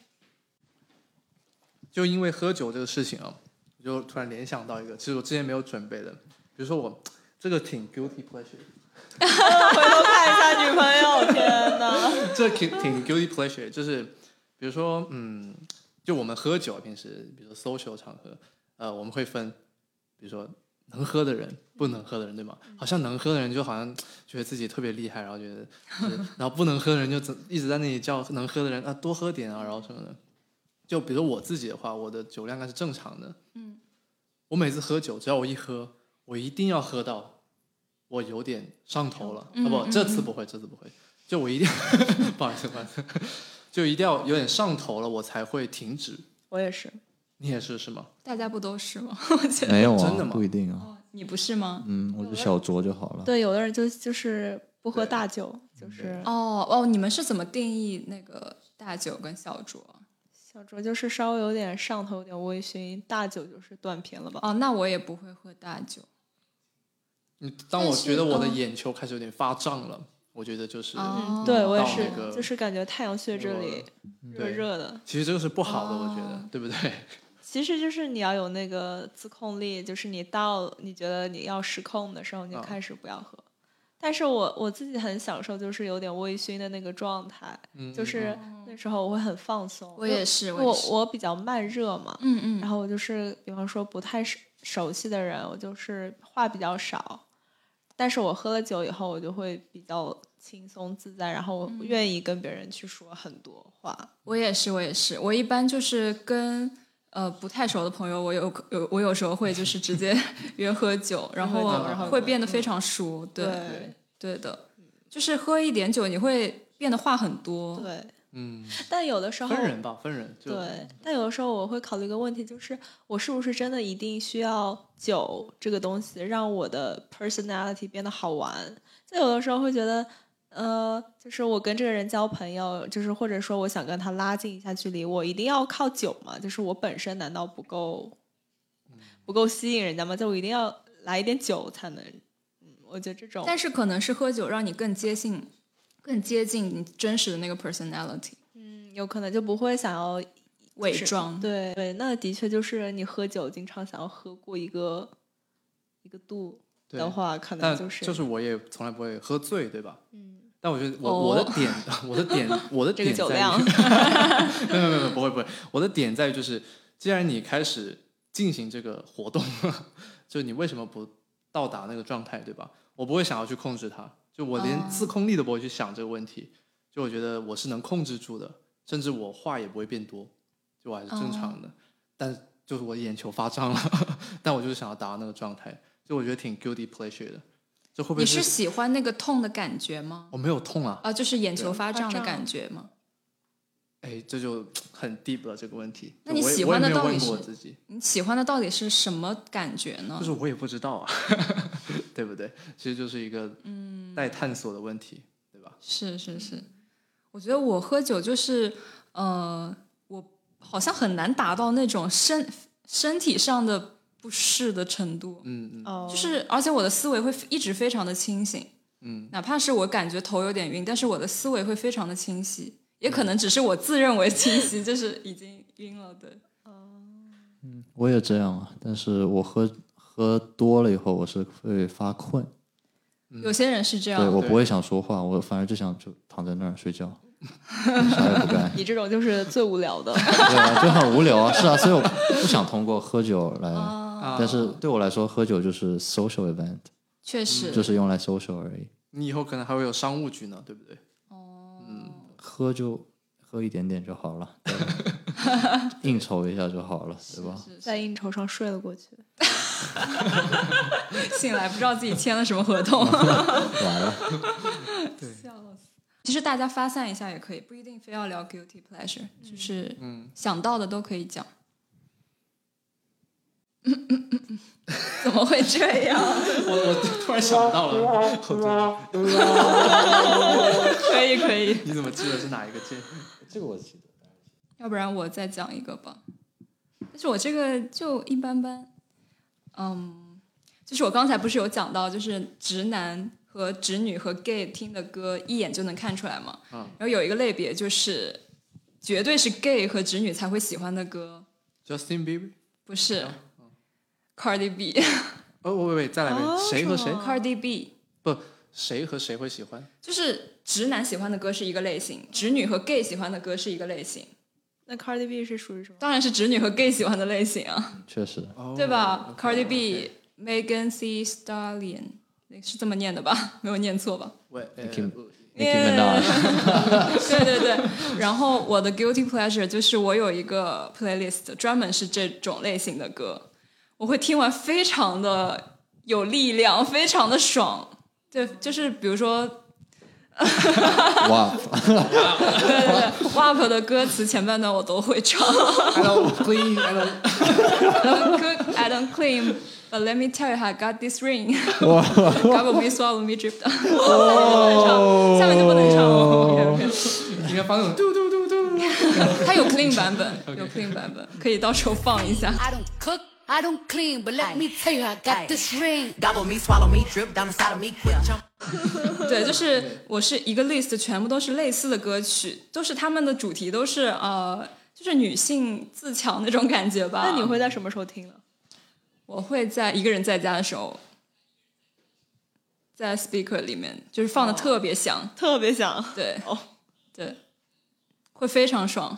就因为喝酒这个事情啊，我就突然联想到一个，其实我之前没有准备的，比如说我这个挺 guilty pleasure， 回头看一下女朋友，天哪， 这挺挺 guilty pleasure， 就是比如说嗯，就我们喝酒平时，比如说 social 场合，呃，我们会分，比如说能喝的人，不能喝的人，对吗？好像能喝的人就好像觉得自己特别厉害，然后觉得，然后不能喝的人就一直在那里叫能喝的人啊多喝点啊，然后什么的。就比如我自己的话，我的酒量应该是正常的。嗯，我每次喝酒，只要我一喝，我一定要喝到我有点上头了。嗯、啊不，这次不会，这次不会。就我一定，不好意思，不好意思，就一定要有点上头了，我才会停止。 我也是。 你也是是吗？ 大家不都是吗？我觉得没有啊， 真的吗？ 不一定啊。 哦，你不是吗？ 嗯，我就小酌就好了。 对，有的人就就是不喝大酒，就是哦哦，你们是怎么定义那个大酒跟小酌？ 小酌就是稍微有点上头，有点微醺；大酒就是断片了吧？ 哦，那我也不会喝大酒。 你当我觉得我的眼球开始有点发胀了，我觉得就是、 哦、 对我也是、 那个， 就是感觉太阳穴这里热热的。 其实这个是不好的， 哦、 我觉得，对不对？ 其实就是你要有那个自控力，就是你到你觉得你要失控的时候，你就开始不要喝。哦、但是我我自己很享受，就是有点微醺的那个状态， 嗯、 就是那时候我会很放松。 我也是， 我我比较慢热嘛， 嗯嗯， 然后我就是比方说不太熟悉的人，我就是话比较少，但是我喝了酒以后，我就会比较轻松自在，然后我愿意跟别人去说很多话。嗯、 我也是，我也是，我一般就是跟。呃，不太熟的朋友，我有有我有时候会就是直接约喝酒，然后会变得非常熟，对对对的，就是喝一点酒，你会变得话很多， 对， 嗯。 但有的时候分人吧，分人。 对，但有的时候我会考虑一个问题，就是我是不是真的一定需要酒这个东西让我的 personality 变得好玩？就有的时候会觉得。呃，就是我跟这个人交朋友，就是或者说我想跟他拉近一下距离，我一定要靠酒吗？就是我本身难道不够不够吸引人家吗？就我一定要来一点酒才能，嗯，我觉得这种。 但是可能是喝酒让你更接近，更接近你真实的那个 personality。 嗯，有可能就不会想要伪装。 对对，那的确就是你喝酒经常想要喝过一个一个度的话，可能就是就是我也从来不会喝醉，对吧？ 嗯。 但我觉得我、 哦、 我的点我的点我的点在于这个酒量没有没有没有不会不会，我的点在于就是，既然你开始进行这个活动，就你为什么不到达那个状态，对吧？我不会想要去控制它，就我连自控力都不会去想这个问题。哦、就我觉得我是能控制住的，甚至我话也不会变多，就我还是正常的。哦、但就是我眼球发胀了，但我就是想要达到那个状态，就我觉得挺 guilty pleasure 的。会不会是你是喜欢那个痛的感觉吗？ 我没有痛啊， 啊，就是眼球发胀的感觉吗？ 哎，这就很 deep 了这个问题。 那你喜欢的到底是？ 自己你喜欢的到底是什么感觉呢？ 就是我也不知道啊，对不对？其实就是一个嗯待探索的问题，对吧？ 是是是，我觉得我喝酒就是呃，我好像很难达到那种身身体上的。不适的程度， 嗯嗯， 就是而且我的思维会一直非常的清醒， 嗯， 哪怕是我感觉头有点晕，但是我的思维会非常的清晰，也可能只是我自认为清晰，就是已经晕了，对。 嗯，我也这样啊，但是我喝喝多了以后，我是会发困。 有些人是这样， 对我不会想说话，我反而就想就躺在那儿睡觉。啥也不干， 你这种就是最无聊的。 对啊，就很无聊啊，是啊，所以我不想通过喝酒来，哦、但是对我来说，喝酒就是 social event， 确实， 就是用来 social 而已。 你以后可能还会有商务局呢，对不对？ 哦， 嗯，喝就喝一点点就好了，对应酬一下就好了，对吧？ 是是是在应酬上睡了过去， 醒来不知道自己签了什么合同， 完了。 对，笑死。其实大家发散一下也可以，不一定非要聊 guilty pleasure，、嗯、就是想到的都可以讲。嗯嗯嗯嗯，怎么会这样？ 我我突然想到了， 可以可以。 你怎么记得是哪一个键？ 这个我记得。 要不然我再讲一个吧。但是我这个就一般般。嗯，就是我刚才不是有讲到，就是直男和直女和 gay 听的歌一眼就能看出来嘛。嗯。然后有一个类别就是绝对是 gay 和直女才会喜欢的歌。 Justin Bieber？ 不是。Cardi B。 哦，喂喂，再来一遍， 哦、 谁和谁 ？Cardi B。 不，谁和谁会喜欢？ 就是直男喜欢的歌是一个类型，直女和 gay 喜欢的歌是一个类型。 那 Cardi B 是属于什么？ 当然是直女和 gay 喜欢的类型啊。 确实。 对吧、oh, okay, Cardi B、Megan Thee Stallion， 是这么念的吧？没有念错吧？ 喂 ，Nicki Minaj。 对对对。然后我的 guilty pleasure 就是我有一个 playlist 专门是这种类型的歌。我会听完非常的有力量，非常的爽。对，就是比如说 W A P 对对对 W A P 的歌词前半段我都会唱。 I don't clean, I don't I don't cook, I don't clean, but let me tell you how I got this ring. Gobble me, swallow me, drip down. 下面就不能唱了。 应该放那种嘟嘟嘟嘟。 它有 clean 版本，有 clean 版本，可以到时候放一下。 I don't cook, I don't clean, but let me tell you I got this ring. Gobble me, swallow me, drip down inside of me, quick jump. 对，就是我是一个 list， 全部都是类似的歌曲，都是他们的主题都是呃，就是女性自强那种感觉吧。 那你会在什么时候听呢？ 我会在一个人在家的时候，在 speaker 里面，就是放的特别响，哦、 特别响。 对， 哦， 对，会非常爽。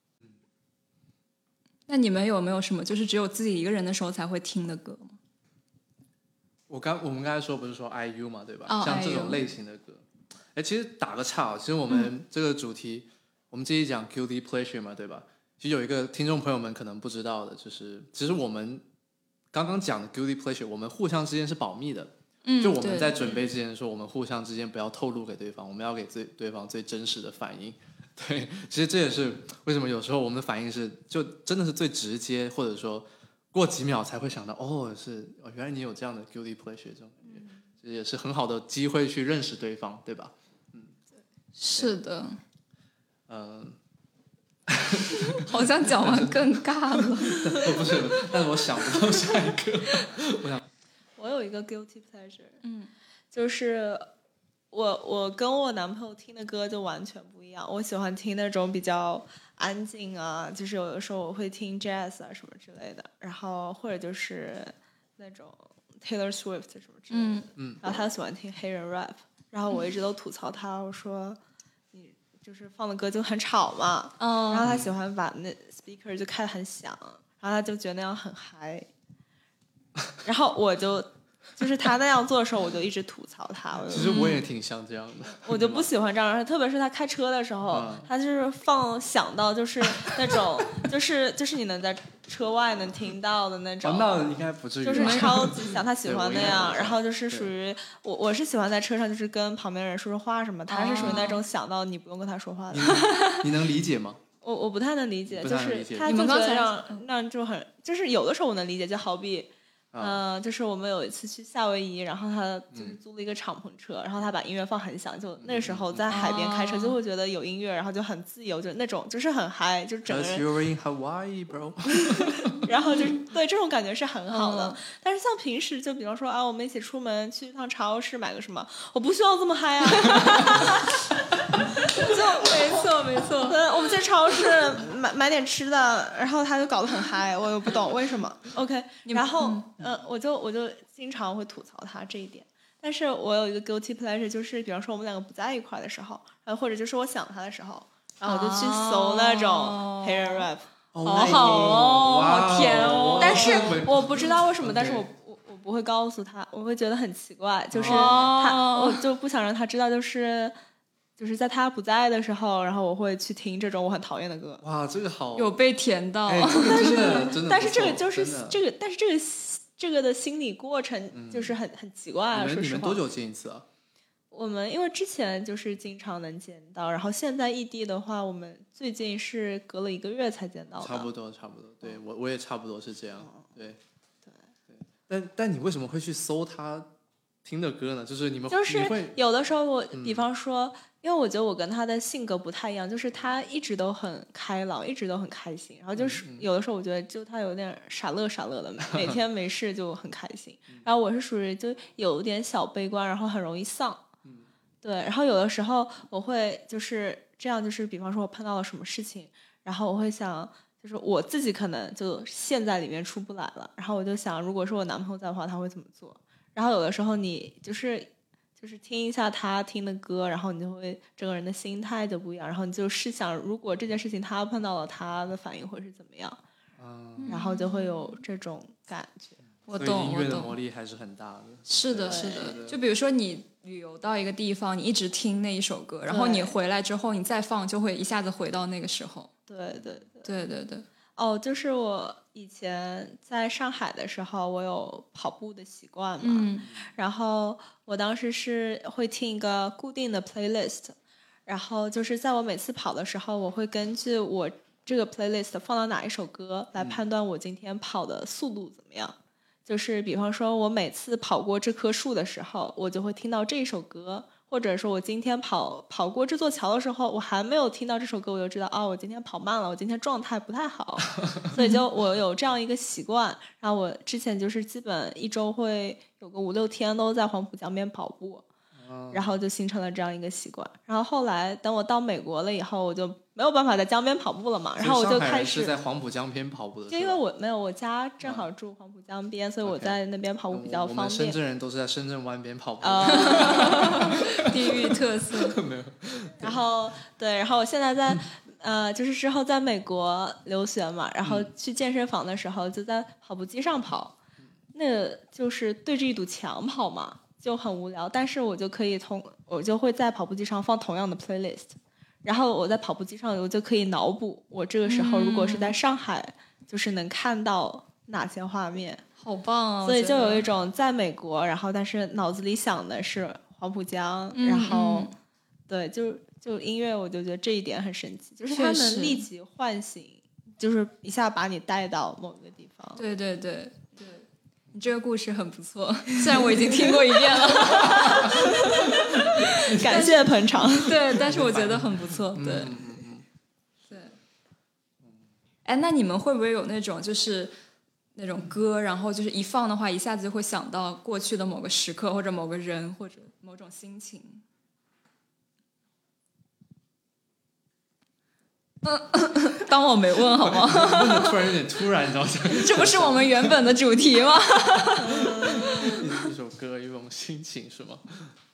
那你们有没有什么就是只有自己一个人的时候才会听的歌吗？ 我刚我们刚才说不是说 I U 嘛，对吧？ oh, 像这种类型的歌，哎，其实打个岔，其实我们这个主题，嗯、我们这一讲 guilty pleasure 嘛，对吧？其实有一个听众朋友们可能不知道的，就是其实我们刚刚讲的 guilty pleasure， 我们互相之间是保密的。嗯，就我们在准备之前说，我们互相之间不要透露给对方，我们要给最对方最真实的反应。对，其实这也是为什么有时候我们的反应是就真的是最直接，或者说过几秒才会想到，哦，是哦，原来你有这样的 guilty pleasure 这种感觉，这也是很好的机会去认识对方，对吧？嗯， 是的， 嗯、 呃，好像讲完更尬了。 不是，但是我想不到下一个。我想， 我有一个 guilty pleasure， 嗯， 就是我我跟我男朋友听的歌就完全不一样。我喜欢听那种比较安静啊，就是有的时候我会听 jazz 啊什么之类的，然后或者就是那种 Taylor Swift 什么之类的， 嗯嗯，然后他喜欢听黑人 rap， 然后我一直都吐槽他，我说你就是放的歌就很吵嘛， 嗯， 然后他喜欢把那 speaker 就开得很响，然后他就觉得那样很嗨，然后我就。就是他那样做的时候，我就一直吐槽他。 其实我也挺像这样的。 我就不喜欢这样，特别是他开车的时候，嗯、他就是放响到就是那种，就是就是你能在车外能听到的那种。 哦、那应该不至于。 就是超级响，他喜欢那样。然后就是属于我，我是喜欢在车上就是跟旁边人说说话什么。他是属于那种响到你不用跟他说话的。 你能理解吗？ 我我不太能理解， 理解就是他就觉得让让就很，就是有的时候我能理解，就好比。嗯、呃，就是我们有一次去夏威夷，然后他就是租了一个敞篷车，嗯、然后他把音乐放很响，就那时候在海边开车就会觉得有音乐，然后就很自由，就那种就是很嗨，就整个人。 You're in Hawaii, bro 。 然后就对这种感觉是很好的，嗯、但是像平时就比方说啊，我们一起出门去一趟超市买个什么，我不需要这么嗨啊。 就没错没错， 嗯，我们去超市买买点吃的，然后他就搞得很嗨，我又不懂为什么。OK， 然后嗯、呃，我就我就经常会吐槽他这一点。但是我有一个 guilty pleasure， 就是比方说我们两个不在一块的时候，然后或者就是我想他的时候，然后我就去搜那种黑人 rap， 好、哦、好哦，好甜哦。 但是我不知道为什么，但是我我我不会告诉他，我会觉得很奇怪，就是他，我就不想让他知道，就是。 就是在他不在的时候，然后我会去听这种我很讨厌的歌。 哇，这个好有被甜到， 哎、这个真的真的， 但是这个就是这个，但是这个这个的心理过程就是很、嗯、很奇怪啊。说实话， 你们多久见一次啊？ 我们因为之前就是经常能见到，然后现在异地的话，我们最近是隔了一个月才见到的。 差不多，差不多，对我我也差不多是这样，嗯、对对对。但但你为什么会去搜他听的歌呢？就是你们就是有的时候我， 嗯、 比方说，因为我觉得我跟他的性格不太一样，就是他一直都很开朗，一直都很开心，然后就是有的时候我觉得就他有点傻乐傻乐的，每天没事就很开心。然后我是属于就有点小悲观，然后很容易丧。对，然后有的时候我会就是这样，就是比方说我碰到了什么事情，然后我会想，就是我自己可能就陷在里面出不来了，然后我就想，如果是我男朋友在的话，他会怎么做？然后有的时候你就是就是听一下他听的歌，然后你就会整个人的心态就不一样，然后你就试想，如果这件事情他碰到了，他的反应会是怎么样？嗯，然后就会有这种感觉。 我懂， 音乐的魔力还是很大的。 是的，是的。就比如说你旅游到一个地方，你一直听那一首歌，然后你回来之后，你再放，就会一下子回到那个时候。 对对对对对对。 哦，就是我以前在上海的时候，我有跑步的习惯嘛， 嗯， 然后我当时是会听一个固定的 playlist， 然后就是在我每次跑的时候，我会根据我这个 playlist 放到哪一首歌来判断我今天跑的速度怎么样。嗯，就是比方说我每次跑过这棵树的时候，我就会听到这首歌，或者说我今天跑跑过这座桥的时候，我还没有听到这首歌，我就知道啊、哦，我今天跑慢了，我今天状态不太好。所以就我有这样一个习惯，然后我之前就是基本一周会有个五六天都在黄浦江边跑步，然后就形成了这样一个习惯。然后后来等我到美国了以后，我就没有办法在江边跑步了嘛，然后我就开始是在黄浦江边跑步的。 就因为我没有我家正好住黄浦江边，啊、所以我在那边跑步比较方便。 我们深圳人都是在深圳湾边跑步， uh, 地域特色没有。 然后对，然后我现在在、嗯、呃，就是之后在美国留学嘛，然后去健身房的时候就在跑步机上跑，嗯、那个就是对着一堵墙跑嘛，就很无聊。但是我就可以同我就会在跑步机上放同样的 playlist。然后我在跑步机上，我就可以脑补我这个时候如果是在上海，嗯、就是能看到哪些画面， 好棒啊！ 所以就有一种在美国，然后但是脑子里想的是黄浦江， 嗯、 然后、嗯、对，就就音乐，我就觉得这一点很神奇，就是它能立即唤醒，就是一下把你带到某一个地方。 对对对对，你这个故事很不错，虽然我已经听过一遍了。 感谢捧场。 对，但是我觉得很不错。对， 嗯嗯、 对。哎，那你们会不会有那种就是那种歌，然后就是一放的话，一下子就会想到过去的某个时刻，或者某个人，或者某种心情？嗯，当我没问好吗？ 问的突然有点突然，你知道吗？ 这不是我们原本的主题吗？ 一首歌，一种心情是吗？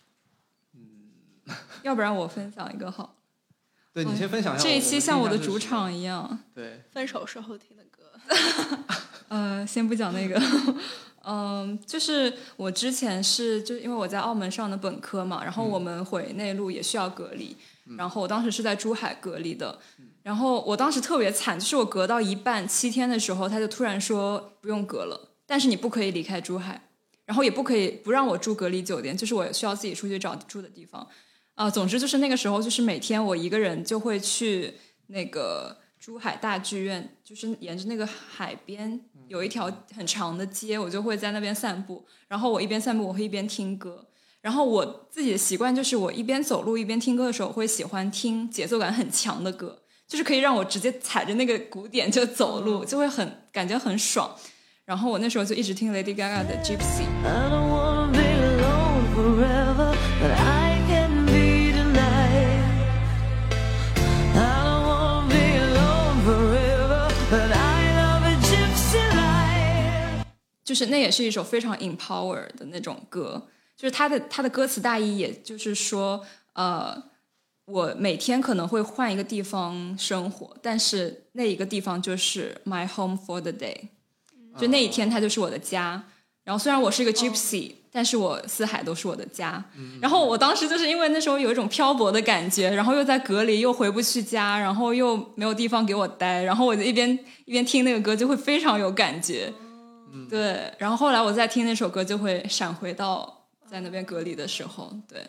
要不然我分享一个好。 对，你先分享一下。 这一期像我的主场一样。 对， 分手时候听的歌。 呃，先不讲那个。嗯，就是我之前是就因为我在澳门上的本科嘛，然后我们回内陆也需要隔离，嗯、然后我当时是在珠海隔离的，嗯、然后我当时特别惨，就是我隔到一半七天的时候，他就突然说不用隔了，但是你不可以离开珠海，然后也不可以不让我住隔离酒店，就是我需要自己出去找住的地方。啊、呃，总之就是那个时候，就是每天我一个人就会去那个珠海大剧院，就是沿着那个海边有一条很长的街，我就会在那边散步。然后我一边散步，我会一边听歌。然后我自己的习惯就是，我一边走路一边听歌的时候，我会喜欢听节奏感很强的歌，就是可以让我直接踩着那个鼓点就走路，就会很感觉很爽。然后我那时候就一直听 Lady Gaga 的 Gypsy。I don't wanna be alone forever, but I can be tonight. I don't wanna be alone forever, but I love a gypsy life. 就是那也是一首非常 empower 的那种歌，就是它的它的歌词大意，也就是说，呃，我每天可能会换一个地方生活，但是那一个地方就是 my home for the day。就那一天它就是我的家，然后虽然我是一个 gypsy、oh. 但是我四海都是我的家。嗯、然后我当时就是因为那时候有一种漂泊的感觉，然后又在隔离，又回不去家，然后又没有地方给我待，然后我就一边一边听那个歌就会非常有感觉。嗯、对，然后后来我再听那首歌就会闪回到在那边隔离的时候。对，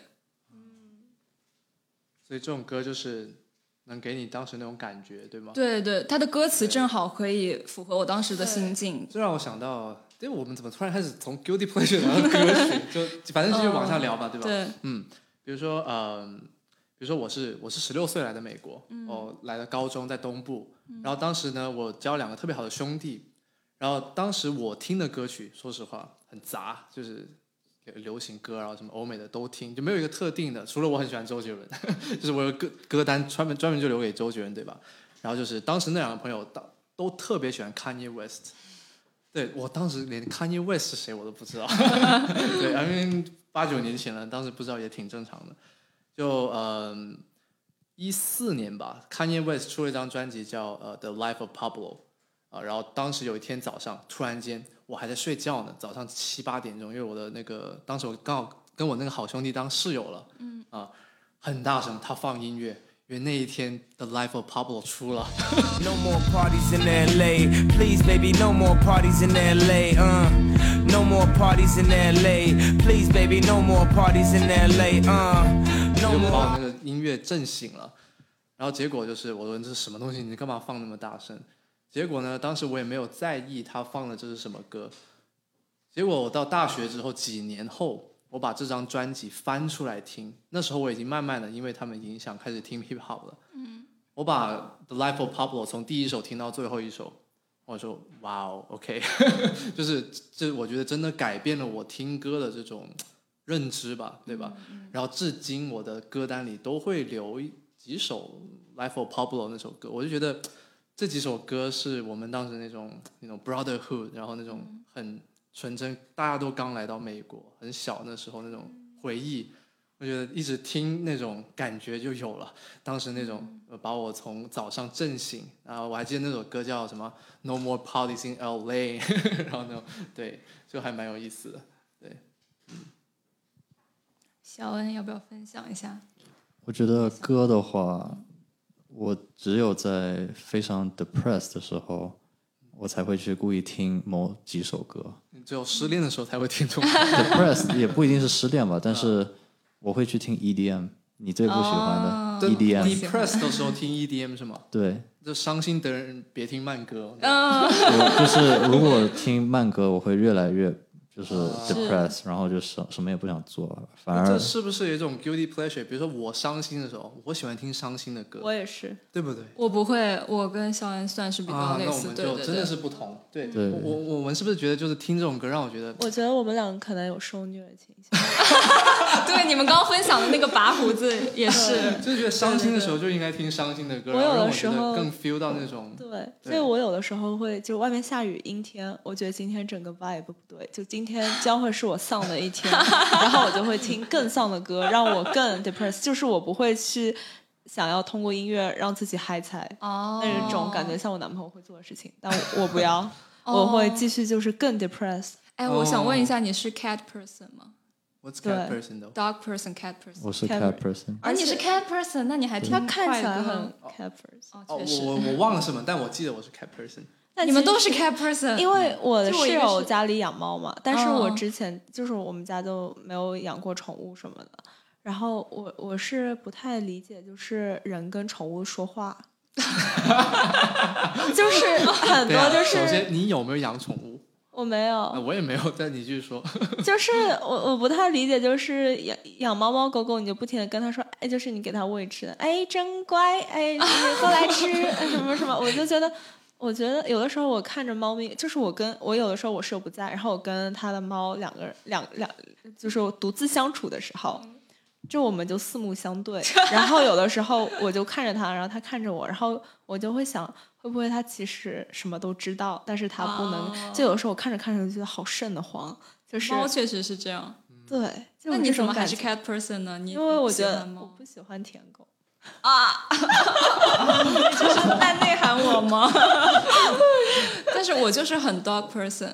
所以这种歌就是能给你当时那种感觉，对吗？ 对对，它的歌词正好可以符合我当时的心境。 这让我想到，对，我们怎么突然开始从 guilty pleasure 聊到歌曲？就反正继续往下聊吧， 嗯、 对吧？ 对， 嗯，比如说，呃，比如说我是我是十六岁来的美国，嗯、哦，来的高中在东部，嗯、然后当时呢，我交两个特别好的兄弟，然后当时我听的歌曲，说实话很杂，就是流行歌，然后什么欧美的都听，就没有一个特定的，除了我很喜欢周杰伦，就是我有歌歌单专门专门就留给周杰伦，对吧？然后就是当时那两个朋友都都特别喜欢 Kanye West， 对，我当时连 Kanye West 是谁我都不知道，对，因为八九年前了，当时不知道也挺正常的。就嗯一四年吧 ，Kanye West 出了一张专辑叫呃 The Life of Pablo， 啊，然后当时有一天早上，突然间我还在睡觉呢，早上七八点钟，因为我的那个当时我刚好跟我那个好兄弟当室友了，嗯啊，很大声，他放音乐。因为那一天 The Life of Pablo 出了 No more parties in L A Please baby no more parties in L A uh. No more parties in L A Please baby no more parties in L A uh. No more 就把我那个音乐震醒了，然后结果就是我说这是什么东西，你干嘛放那么大声？结果呢，当时我也没有在意他放的这是什么歌。结果我到大学之后几年后，我把这张专辑翻出来听，那时候我已经慢慢的因为他们影响开始听 hip hop 了。嗯，我把 The Life of Pablo 从第一首听到最后一首，我说哇哦 ，OK， 就是这我觉得真的改变了我听歌的这种认知吧，对吧？嗯、然后至今我的歌单里都会留几首 Life of Pablo 那首歌，我就觉得这几首歌是我们当时那种那种 brotherhood， 然后那种很纯真，大家都刚来到美国，很小那时候那种回忆，我觉得一直听那种感觉就有了。当时那种把我从早上震醒，然后我还记得那首歌叫什么 No More Parties in L A 然后那种对，就还蛮有意思的。对，嗯， 小恩要不要分享一下？ 我觉得歌的话，我只有在非常 depressed 的时候，我才会去故意听某几首歌。 只有失恋的时候才会听这种。 depressed 也不一定是失恋吧，但是我会去听 E D M， 你最不喜欢的 E D M。depressed 的时候听 E D M 是吗？ 对。 就伤心的人别听慢歌。 我就是如果听慢歌，我会越来越就是 depressed， 然后就什什么也不想做，反而这是不是有一种 guilty pleasure？ 比如说我伤心的时候，我喜欢听伤心的歌。 我也是， 对不对？ 我不会，我跟肖恩算是比较类似， 啊、那我们就真的是不同。对对， 我我们是不是觉得就是听这种歌让我觉得？ 我觉得我们两个可能有受虐倾向。 对，你们刚刚分享的那个拔胡子也是， 就是觉得伤心的时候就应该听伤心的歌， 我有的时候更 feel 到那种。 对，对所以我有的时候会，就外面下雨阴天，我觉得今天整个 vibe 不对，就今天将会是我丧的一天，然后我就会听更丧的歌，让我更 depressed， 就是我不会去想要通过音乐让自己嗨起来， 哦， 那种感觉像我男朋友会做的事情，但我我不要，我会继续就是更 depressed。 哎，我想问一下，你是 cat person 吗 ？What's cat person though? Dog person, cat person. 我是 cat person。 啊，你是 cat person， 那你还听他看起来很 cat person。 哦，确实。 我我忘了什么，但我记得我是 cat person。 你们都是 cat person， 因为我的室友家里养猫嘛，但是我之前就是我们家就没有养过宠物什么的，然后我我是不太理解，就是人跟宠物说话，就是很多就是。 首先，你有没有养宠物？ 我没有、 啊，我也没有，但你继续说。 就是我我不太理解，就是养养猫猫狗狗，你就不停的跟它说，哎，就是你给它喂吃的，哎，真乖，哎，你过来吃，什么什么，我就觉得。我觉得有的时候我看着猫咪，就是我跟我有的时候我室友不在，然后我跟他的猫两个人两两就是我独自相处的时候，就我们就四目相对，然后有的时候我就看着他，然后他看着我，然后我就会想会不会他其实什么都知道，但是他不能、哦、就有的时候我看着看着就觉得好瘆得慌，就是猫确实是这样， 对，就那你怎么还是 cat person 呢？你因为我觉得我不喜欢舔狗。 啊，你这是在内涵我吗？但是我就是很 dog person，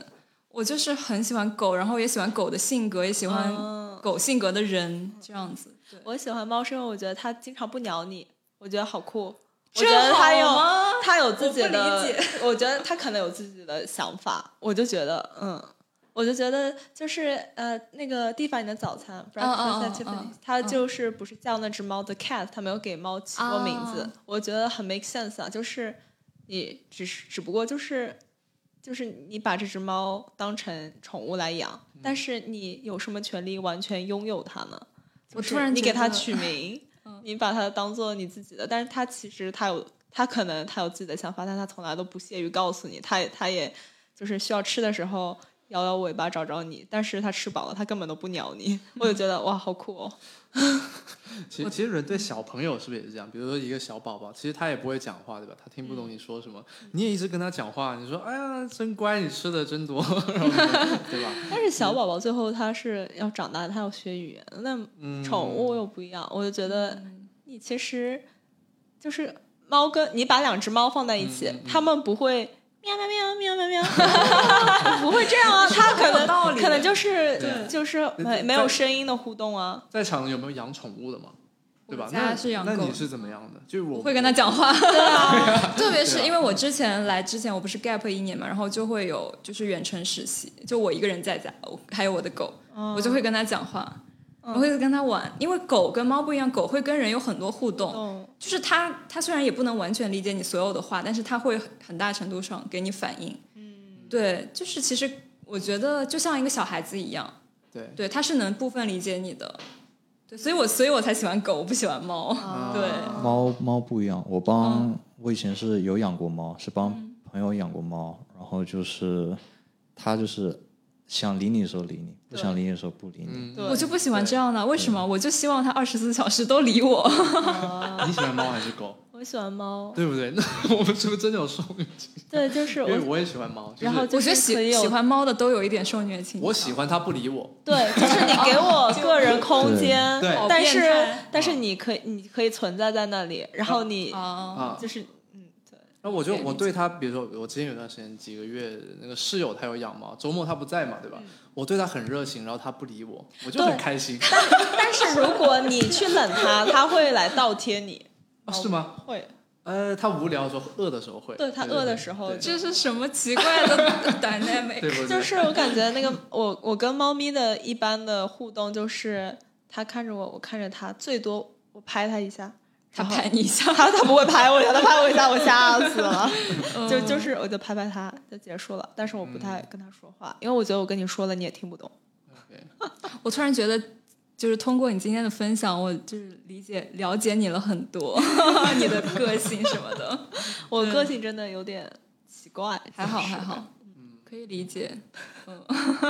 我就是很喜欢狗，然后也喜欢狗的性格，也喜欢狗性格的人、嗯、这样子。对， 我喜欢猫是因为我觉得它经常不鸟你，我觉得好酷。我觉得他有他有自己的，我, 我觉得他可能有自己的想法，我就觉得嗯，我就觉得就是呃那个蒂凡尼的早餐 Breakfast at Tiffany's，他就是不是叫那只猫的 cat， 他没有给猫起过名字，哦、我觉得很 make sense 啊，就是你只是只不过就是就是你把这只猫当成宠物来养，嗯、但是你有什么权利完全拥有它呢？ 我突然你给它取名。你把它当做你自己的，但是他其实他有他可能他有自己的想法，但他从来都不屑于告诉你，他也他也就是需要吃的时候摇摇尾巴找找你，但是他吃饱了他根本都不鸟你，我就觉得哇好酷哦。 其实其实人对小朋友是不是也是这样？比如说一个小宝宝，其实他也不会讲话，对吧？他听不懂你说什么，嗯、你也一直跟他讲话，你说哎呀真乖，你吃的真多，对吧？ 但是小宝宝最后他是要长大，他要学语言，那宠物又不一样，我就觉得你其实就是猫跟你把两只猫放在一起，嗯嗯、他们不会。喵喵喵喵喵喵，不会这样啊！他可能可能就是就是没没有声音的互动啊。 在场有没有养宠物的吗？对吧？ 家是养狗， 那你是怎么样的？就是我会跟他讲话，对啊，特别是因为我之前来之前我不是 gap 一年嘛，然后就会有就是远程实习，就我一个人在家，还有我的狗，嗯、我就会跟他讲话。我会跟他玩，因为狗跟猫不一样，狗会跟人有很多互动，嗯、就是它它虽然也不能完全理解你所有的话，但是它会很大程度上给你反应。嗯，对，就是其实我觉得就像一个小孩子一样， 对， 对，它是能部分理解你的。对，所以我所以我才喜欢狗，我不喜欢猫。啊、对， 猫猫不一样，我帮、嗯、我以前是有养过猫，是帮朋友养过猫，嗯、然后就是它就是想理你的时候理你，不想理你的时候不理你。 我就不喜欢这样的，为什么？我就希望它二十四小时都理我。 啊、你喜欢猫还是狗？ 我喜欢猫， 对不对？那我们是不是真的有受虐倾向？ 对，就是因为我也喜欢猫。就是、 然后我觉得喜喜欢猫的都有一点受虐倾向。 我喜欢它不理我。 对，就是你给我个人空间， 对， 但是但是你可以你可以存在在那里，然后你啊就是。 那我就我对他，比如说我之前有段时间几个月，那个室友他有养猫，周末他不在嘛，对吧？嗯、我对他很热情，然后他不理我，我就很开心。 但, 但是如果你去冷他，他会来倒贴你。 哦，是吗？ 会。 呃，他无聊的时候、饿的时候会。 对，他饿的时候， 这是什么奇怪的 dynamic？ 对不对？ 就是我感觉那个我我跟猫咪的一般的互动就是，他看着我，我看着他，最多我拍他一下。 他拍你一下， 他他不会拍我一下，他拍我一下，我吓死了。就就是我就拍拍他就结束了，但是我不太跟他说话，因为我觉得我跟你说了你也听不懂。 Okay. 我突然觉得，就是通过你今天的分享，我就是理解了解你了很多，你的个性什么的。 我个性真的有点奇怪， 还好还好，嗯，可以理解。嗯。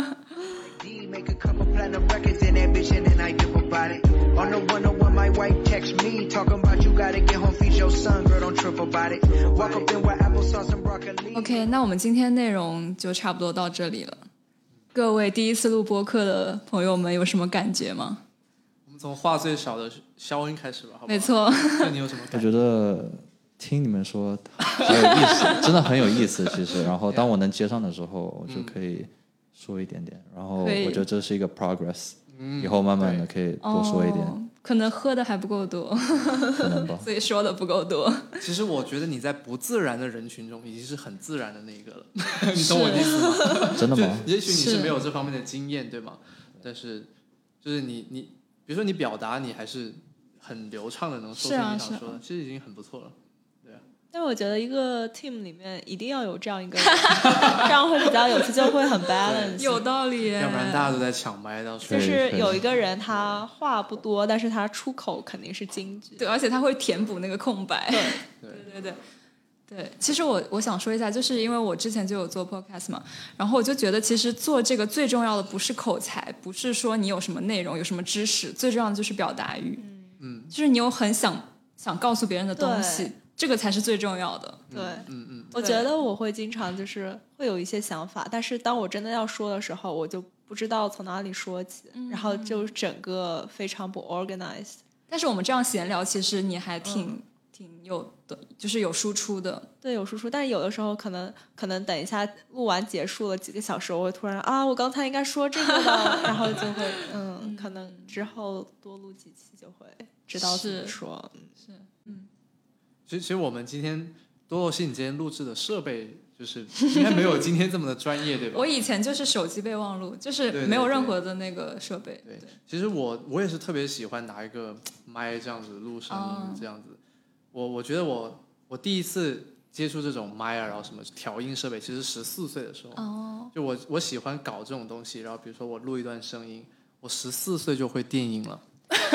Make a couple platinum records and ambition and I give about it. On the one oh one my wife text me talking about you gotta get home feed your son, girl don't trip about it. Walk up in with applesauce and broccoli. OK， 那我们今天内容就差不多到这里了。各位第一次录播客的朋友们有什么感觉吗？ 我们从话最少的肖恩开始吧，好不好？ 没错。 那你有什么感觉？ 我觉得听你们说很有意思，真的很有意思。其实，然后当我能接上的时候，我就可以。说一点点，然后我觉得这是一个 progress，、嗯、以后慢慢的可以多说一点。 哦、可能喝的还不够多， 可能吧， 所以说的不够多。 其实我觉得你在不自然的人群中已经是很自然的那一个了，你懂我的意思吗？ 真的吗？ 也许你是没有这方面的经验，对吗？但是就是你你，比如说你表达，你还是很流畅的能说出你想说的，啊、其实已经很不错了。 但我觉得一个 team 里面一定要有这样一个人，这样会比较有趣，就会很 balance。 有道理， 要不然大家都在抢麦，到时候就是有一个人他话不多，但是他出口肯定是金句， 对，而且他会填补那个空白。 对对对对对。其实我我想说一下，就是因为我之前就有做 podcast 嘛，然后我就觉得其实做这个最重要的不是口才，不是说你有什么内容有什么知识，最重要的就是表达欲。嗯，就是你有很想想告诉别人的东西。这个才是最重要的。 对，嗯嗯，我觉得我会经常就是会有一些想法，但是当我真的要说的时候，我就不知道从哪里说起，嗯、然后就整个非常不 organized。 但是我们这样闲聊，其实你还挺、嗯、 挺有的，就是有输出的。 对，有输出，但是有的时候可能可能等一下录完结束了几个小时，我会突然啊，我刚才应该说这个的，然后就会嗯，嗯可能之后多录几期就会知道怎么说。 是，嗯。 其实，其实我们今天多罗西，你今天录制的设备就是应该没有今天这么的专业，对吧？ 我以前就是手机备忘录，就是没有任何的那个设备。 对，对对其实我我也是特别喜欢拿一个麦这样子录声音，这样子。哦、我我觉得我我第一次接触这种麦啊，然后什么调音设备，其实十四岁的时候。哦。就我我喜欢搞这种东西，然后比如说我录一段声音，我十四岁就会电音了。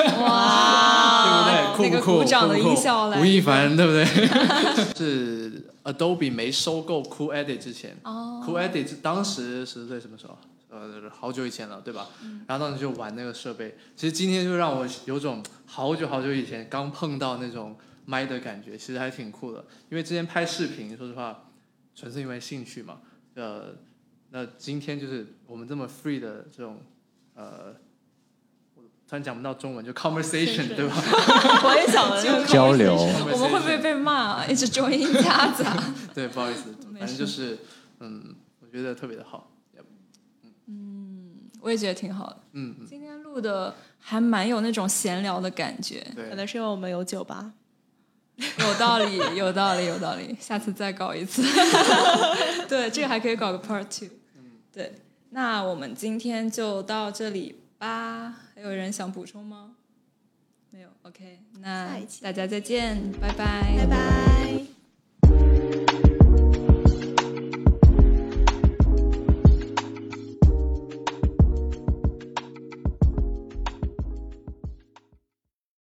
哇， 对不对？酷不酷？ 那个鼓掌的音效来， 吴亦凡对不对？是 Adobe 没收购 Cool Edit 之前、oh. ，Cool Edit 当时十岁什么时候？呃，好久以前了，对吧？嗯、然后当时就玩那个设备。其实今天就让我有种好久好久以前刚碰到那种麦的感觉，其实还挺酷的。因为之前拍视频，说实话，纯粹因为兴趣嘛。呃，那今天就是我们这么 free 的这种呃。突然讲不到中文，就 conversation 对吧？ 我也想了这个交流。 我们会不会被骂？一直中音夹杂。 对，不好意思，反正就是，嗯，我觉得特别的好。 嗯，我也觉得挺好的。 嗯， 今天录的还蛮有那种闲聊的感觉。 可能是因为我们有酒吧。 有道理，有道理，有道理。下次再搞一次。对，这个还可以搞个 part two。嗯，对。那我们今天就到这里吧。还有人想补充吗？没有 ，OK， 那大家再见，拜拜， 拜拜。